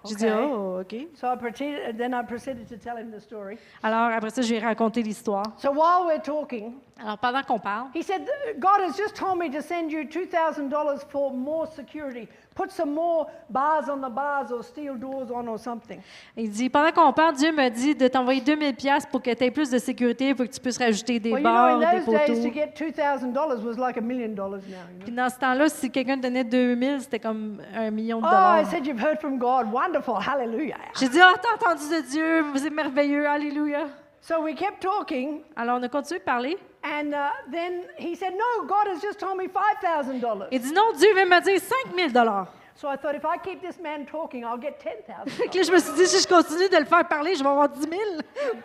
J'ai dit, Okay. oh, OK. So I pretended, then I proceeded to tell him the story. Alors, après ça, je lui ai raconté l'histoire. So while we're talking, Alors, pendant qu'on parle, he said, God has just told me to send you two thousand dollars for more security. Put some more bars on the bars or steel doors on or something. il dit, pendant qu'on parle, Dieu m'a dit de t'envoyer deux mille dollars pour que tu aies plus de sécurité, pour que tu puisses rajouter des Well, you know, barres, in des those days, to poteaux. get two thousand dollars was like a million dollars now. You know? Puis dans ce temps-là, si quelqu'un te donnait deux mille, c'était comme un million de Oh, I dollars. said, you've heard from God. Wonderful. Hallelujah. J'ai dit, ah, t'as entendu de Dieu, c'est merveilleux, alléluia. So we kept talking, Alors, on a continué de parler. and uh, then he said, no, God has just told me five thousand dollars. Il dit, non, Dieu vient me dire cinq mille dollars. So I thought, if I keep this man talking, I'll get ten thousand Fait que dollars. là, je me suis dit, si je continue de le faire parler, je vais avoir dix mille.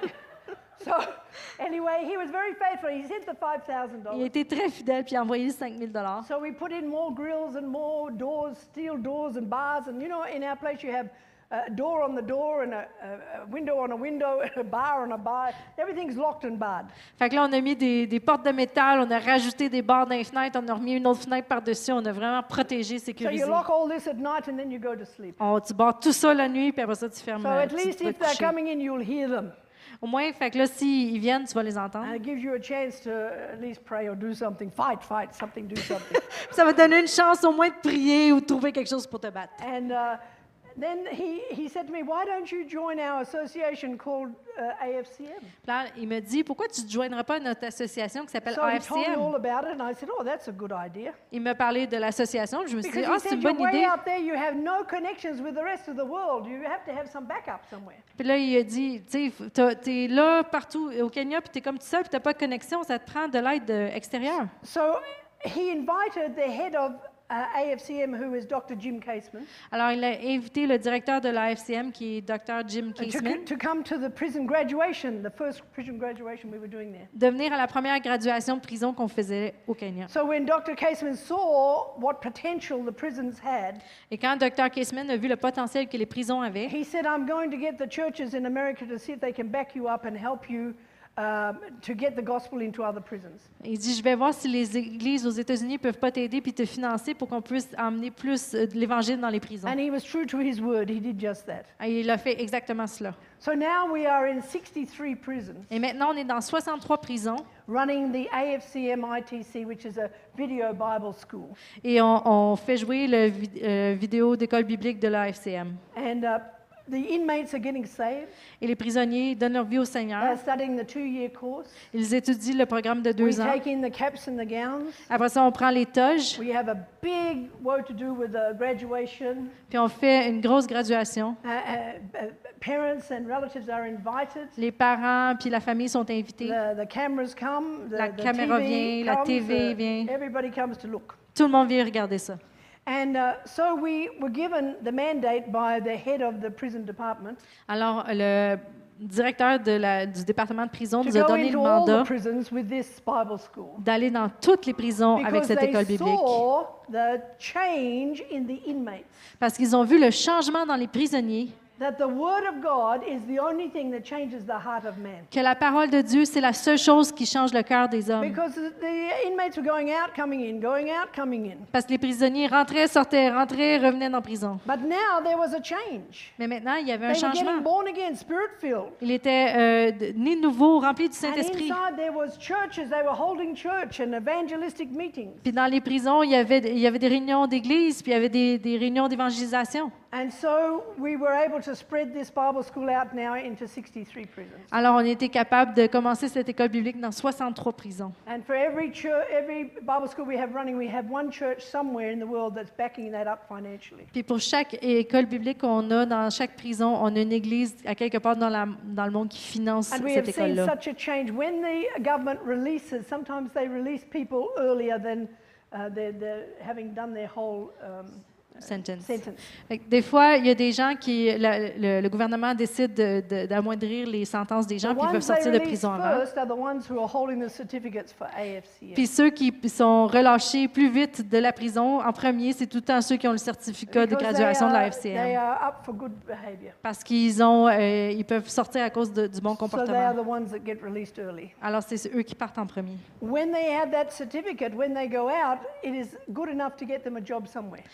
So anyway, he was very faithful. He sent the five thousand Il a dollars. été très fidèle, puis il a envoyé cinq mille dollars. So we put in more grills and more doors, steel doors and bars. And you know, in our place, you have a door on the door and a, a, a window on a window and a bar on a bar. Everything's locked and barred. Fait que là, on a mis des, des portes de métal, on a rajouté des barres dans les fenêtres, on a remis une autre fenêtre par-dessus, on a vraiment protégé, So sécurisé. you lock all this at night and then you go to sleep. On, tu barres tout ça la nuit, puis après ça, tu fermes. So euh, at tu least te vas if te they're coucher. coming in, you'll hear them. Au moins, fait que là, s'ils viennent, tu vas les entendre. And it gives you a chance to at least pray or do something. Fight, fight, something, do something. Ça va te donner une chance au moins de prier ou de trouver quelque chose pour te battre. And uh, then he, he said to me, why don't you join our association called uh, A F C M? Puis là, il me dit, pourquoi tu ne joindras pas notre association qui s'appelle So he told me A F C M? all about it, and I said, oh, that's a good idea. Il m'a parlé de l'association, puis je me suis dit, Because ah, he c'est said, une you're bonne way idée. out there, you have no connections with the rest of the world. You have to have some backup somewhere. Puis là, il a dit, tu sais, tu es là partout au Kenya, puis tu es comme tout seul, puis tu n'as pas de connexion, ça te prend de l'aide euh, extérieure. So he invited the head of uh, A F C M, who is Doctor Jim Caseman, Alors, il a invité le directeur de l'A F C M, qui est Dr Jim to, Caseman, to come to the prison graduation, the first prison graduation we were doing there. de venir à la première graduation de prison qu'on faisait au Kenya. So when Doctor Caseman saw what potential the prisons had, Et quand Dr Caseman a vu le potentiel que les prisons avaient, he said, I'm going to get the churches in America to see if they can back you up and help you um, to get the gospel into other prisons. il dit, je vais voir si les églises aux États-Unis peuvent pas t'aider puis te financer pour qu'on puisse emmener plus euh, de l'Évangile dans les prisons. And he was true to his word. He did just that. Et il a fait exactement cela. So now we are in sixty-three prisons Et maintenant, on est dans soixante-trois prisons running the A F C M I T C, which is a video Bible school. et on, on fait jouer le vi- euh, vidéo d'école biblique de l'A F C M. And uh, the inmates are getting saved. Et les prisonniers donnent leur vie au They're Seigneur. studying the two-year course. Ils étudient le programme de We deux ans. take in the caps and the gowns. Après ça, on prend les toges, We have a big what to do with the graduation. puis on fait une grosse graduation. Uh, uh, uh, parents and relatives are invited. Les parents puis la famille sont invités. The, the cameras come. The, La the caméra T V vient, la comes, T V uh, vient. Everybody comes to look. Tout le monde vient regarder ça. And uh, so we were given the mandate by the head of the prison department Alors, le directeur de la- du département de prison to nous a go donné le into all mandat the prisons with this Bible school. d'aller dans toutes les prisons avec Because cette they école biblique. saw the change in the inmates. Parce qu'ils ont vu le changement dans les prisonniers, That the Word of God is the only thing that changes the heart of man. que la parole de Dieu, c'est la seule chose qui change le cœur des hommes. Because the the inmates were going out, coming in, going out, coming in. Parce que les prisonniers rentraient, sortaient, rentraient, revenaient dans la prison. But now there was a change. Mais maintenant, il y avait un They were getting changement. born again, spirit-filled. Il était euh, de- né de nouveau, rempli du And Saint-Esprit. inside there was churches, they were holding church and evangelistic meetings. Puis dans les prisons, il y avait, il y avait des réunions d'église, puis il y avait des, des réunions d'évangélisation. And so we were able to spread this Bible school out now into sixty-three prisons. Alors, on était capable de commencer cette école biblique dans soixante-trois prisons. And for every church, every Bible school we have running, we have one church somewhere in the world that's backing that up financially. Puis pour chaque école biblique qu'on a dans chaque prison, on a une église à quelque part dans, la, dans le monde qui finance And we have cette seen école-là. such a change. When the government releases, sometimes they release people earlier than uh, they're, they're having done their whole um, Sentence. sentence. Fait que des fois, il y a des gens qui, la- le, le gouvernement décide de- de- d'amoindrir les sentences des gens, The puis ils peuvent ones they sortir de release prison avant. first are the ones who are holding the certificates for A F C M. Puis ceux qui sont relâchés plus vite de la prison, en premier, c'est tout le temps ceux qui ont le certificat de Because they graduation de la are- F C They M. are up for good behavior. Parce qu'ils ont, euh, ils peuvent sortir à cause de- du bon So they are comportement. the ones that get released early. Alors, c'est eux qui partent en premier. When they have that certificate, when they go out, it is good enough to get them a job somewhere. Puis ce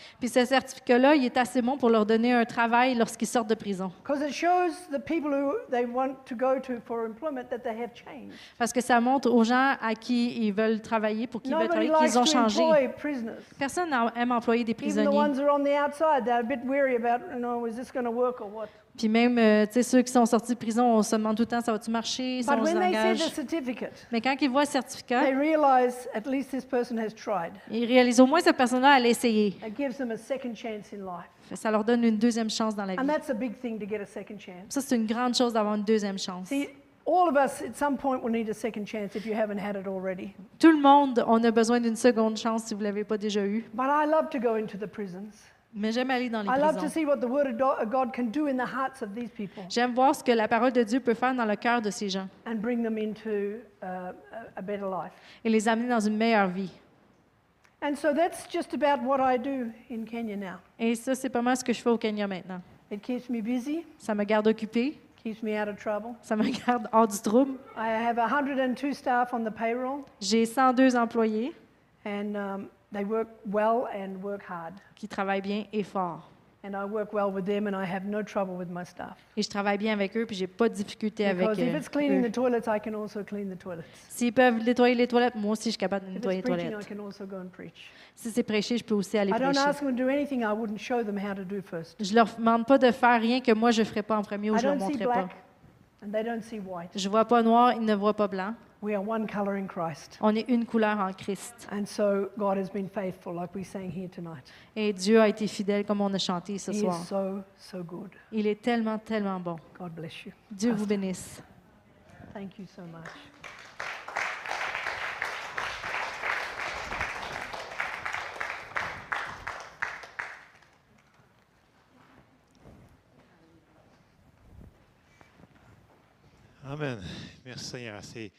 certificat-là, il est assez bon pour leur donner un travail lorsqu'ils sortent de prison. Because it shows the people who they want to go to for employment that they have changed. Parce que ça montre aux gens à qui ils veulent travailler, pour qui ils veulent Nobody travailler, likes qu'ils ont to changé. employ prisoners. Personne n'aime employer des Even the prisonniers. ones who are on the outside, they're a bit weary about, you know, is this going to work or what? Puis même, euh, tu sais, ceux qui sont sortis de prison, on se demande tout le temps, ça va-tu marcher, ça But on se when they see engage. the certificate, Mais quand ils voient le certificat, they realize at least this person has tried. ils réalisent au moins cette personne-là, elle a essayé. It gives them a second chance in life. Ça leur donne une deuxième chance dans la And vie. that's a big thing to get a second chance. Ça, c'est une grande chose d'avoir une deuxième chance. See, all of us at some point will need a second chance if you haven't had it already. Tout le monde, on a besoin d'une seconde chance si vous ne l'avez pas déjà eu. But I love to go into the prisons. Mais j'aime aller dans les I love to prisons. see what the Word of Do- of God can do in the hearts of these people J'aime voir ce que la parole de Dieu peut faire dans le cœur de ces gens and bring them into uh, a, a better life. et les amener dans une meilleure vie. And so that's just about what I do in Kenya now. Et ça, c'est pas mal ce que je fais au Kenya maintenant. It keeps me busy, Ça me garde occupée, keeps me out of trouble. ça me garde hors du trouble. I have one hundred two staff on the payroll, J'ai cent deux employés and um, they work well and work hard. qui travaillent bien et fort. And I work well with them, and I have no trouble with my staff. Et je travaille bien avec eux, puis j'ai pas de difficulté avec Because if euh, it's cleaning eux. the toilets, I can also clean the toilets. S'ils peuvent nettoyer les toilettes, moi aussi, je suis capable de If nettoyer it's les preaching, I toilettes. can also go and preach. Si c'est prêcher, je peux aussi aller I don't prêcher. ask them to do anything I wouldn't show them how to do first. Je leur demande pas de faire rien que moi, je ferai pas en premier ou I je leur don't see montrerai pas. black, and they don't see white. Je vois pas noir, ils ne voient pas blanc. We are one color in Christ. On est une couleur en Christ. And so God has been faithful, like we sang here tonight. Et Dieu a été fidèle comme on a chanté ce He soir. is so, so good. Il est tellement, tellement bon. God bless you. Dieu vous bénisse. Thank you so much. Amen. Merci Seigneur. C'est...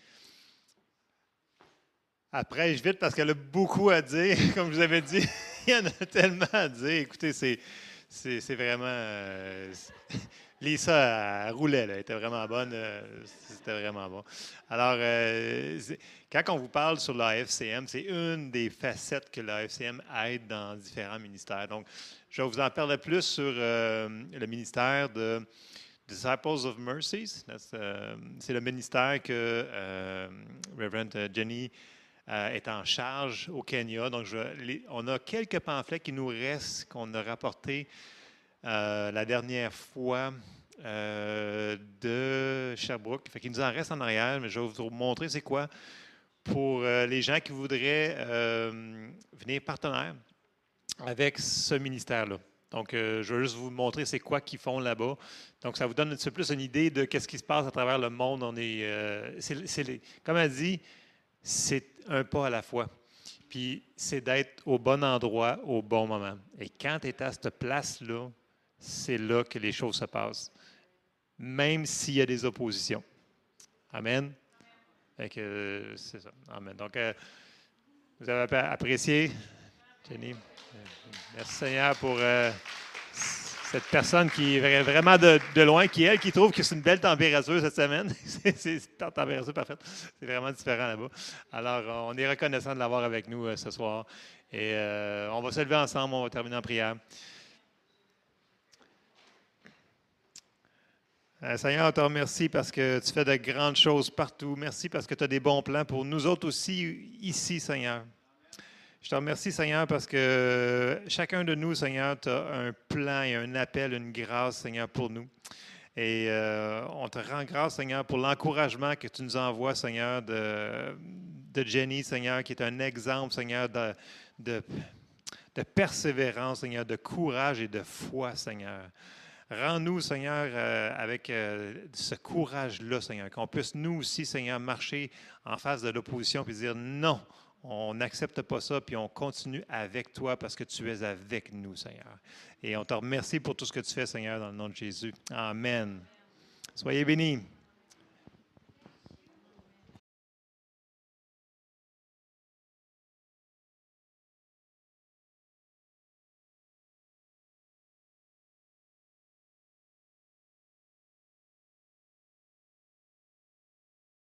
Après, je vite parce qu'elle a beaucoup à dire. Comme je vous avais dit, il y en a tellement à dire. Écoutez, c'est, c'est, c'est vraiment... Euh, Lisa, elle roulait, là. Elle était vraiment bonne. Euh, c'était vraiment bon. Alors, euh, quand on vous parle sur l'A F C M, c'est une des facettes que l'A F C M aide dans différents ministères. Donc, je vais vous en parler plus sur euh, le ministère de Disciples of Mercies. Euh, c'est le ministère que euh, Reverend Jenny euh, est en charge au Kenya. Donc, je, les, on a quelques pamphlets qui nous restent, qu'on a rapportés Euh, la dernière fois euh, de Sherbrooke. Fait qu'il nous en reste en arrière, mais je vais vous montrer c'est quoi pour euh, les gens qui voudraient euh, venir partenaires avec ce ministère-là. Donc, euh, je vais juste vous montrer c'est quoi qu'ils font là-bas. Donc, ça vous donne un petit peu plus une idée de ce qui se passe à travers le monde. On est, euh, c'est, c'est, comme elle dit, c'est un pas à la fois. Puis, c'est d'être au bon endroit, au bon moment. Et quand tu es à cette place-là, c'est là que les choses se passent, même s'il y a des oppositions. Amen. Fait que, euh, c'est ça. Amen. Donc, euh, vous avez apprécié, Jenny. Merci Seigneur pour euh, cette personne qui est vraiment de, de loin, qui elle, qui trouve que c'est une belle température cette semaine. c'est, c'est une température parfaite. C'est vraiment différent là-bas. Alors, on est reconnaissant de l'avoir avec nous euh, ce soir. Et euh, on va se lever ensemble, on va terminer en prière. Euh, Seigneur, on te remercie parce que tu fais de grandes choses partout. Merci parce que tu as des bons plans pour nous autres aussi ici, Seigneur. Je te remercie, Seigneur, parce que chacun de nous, Seigneur, tu as un plan et un appel, une grâce, Seigneur, pour nous. Et euh, on te rend grâce, Seigneur, pour l'encouragement que tu nous envoies, Seigneur, de, de Jenny, Seigneur, qui est un exemple, Seigneur, de, de, de persévérance, Seigneur, de courage et de foi, Seigneur. Rends-nous, Seigneur, euh, avec euh, ce courage-là, Seigneur, qu'on puisse nous aussi, Seigneur, marcher en face de l'opposition et dire non, on n'accepte pas ça, puis on continue avec toi parce que tu es avec nous, Seigneur. Et on te remercie pour tout ce que tu fais, Seigneur, dans le nom de Jésus. Amen. Soyez bénis.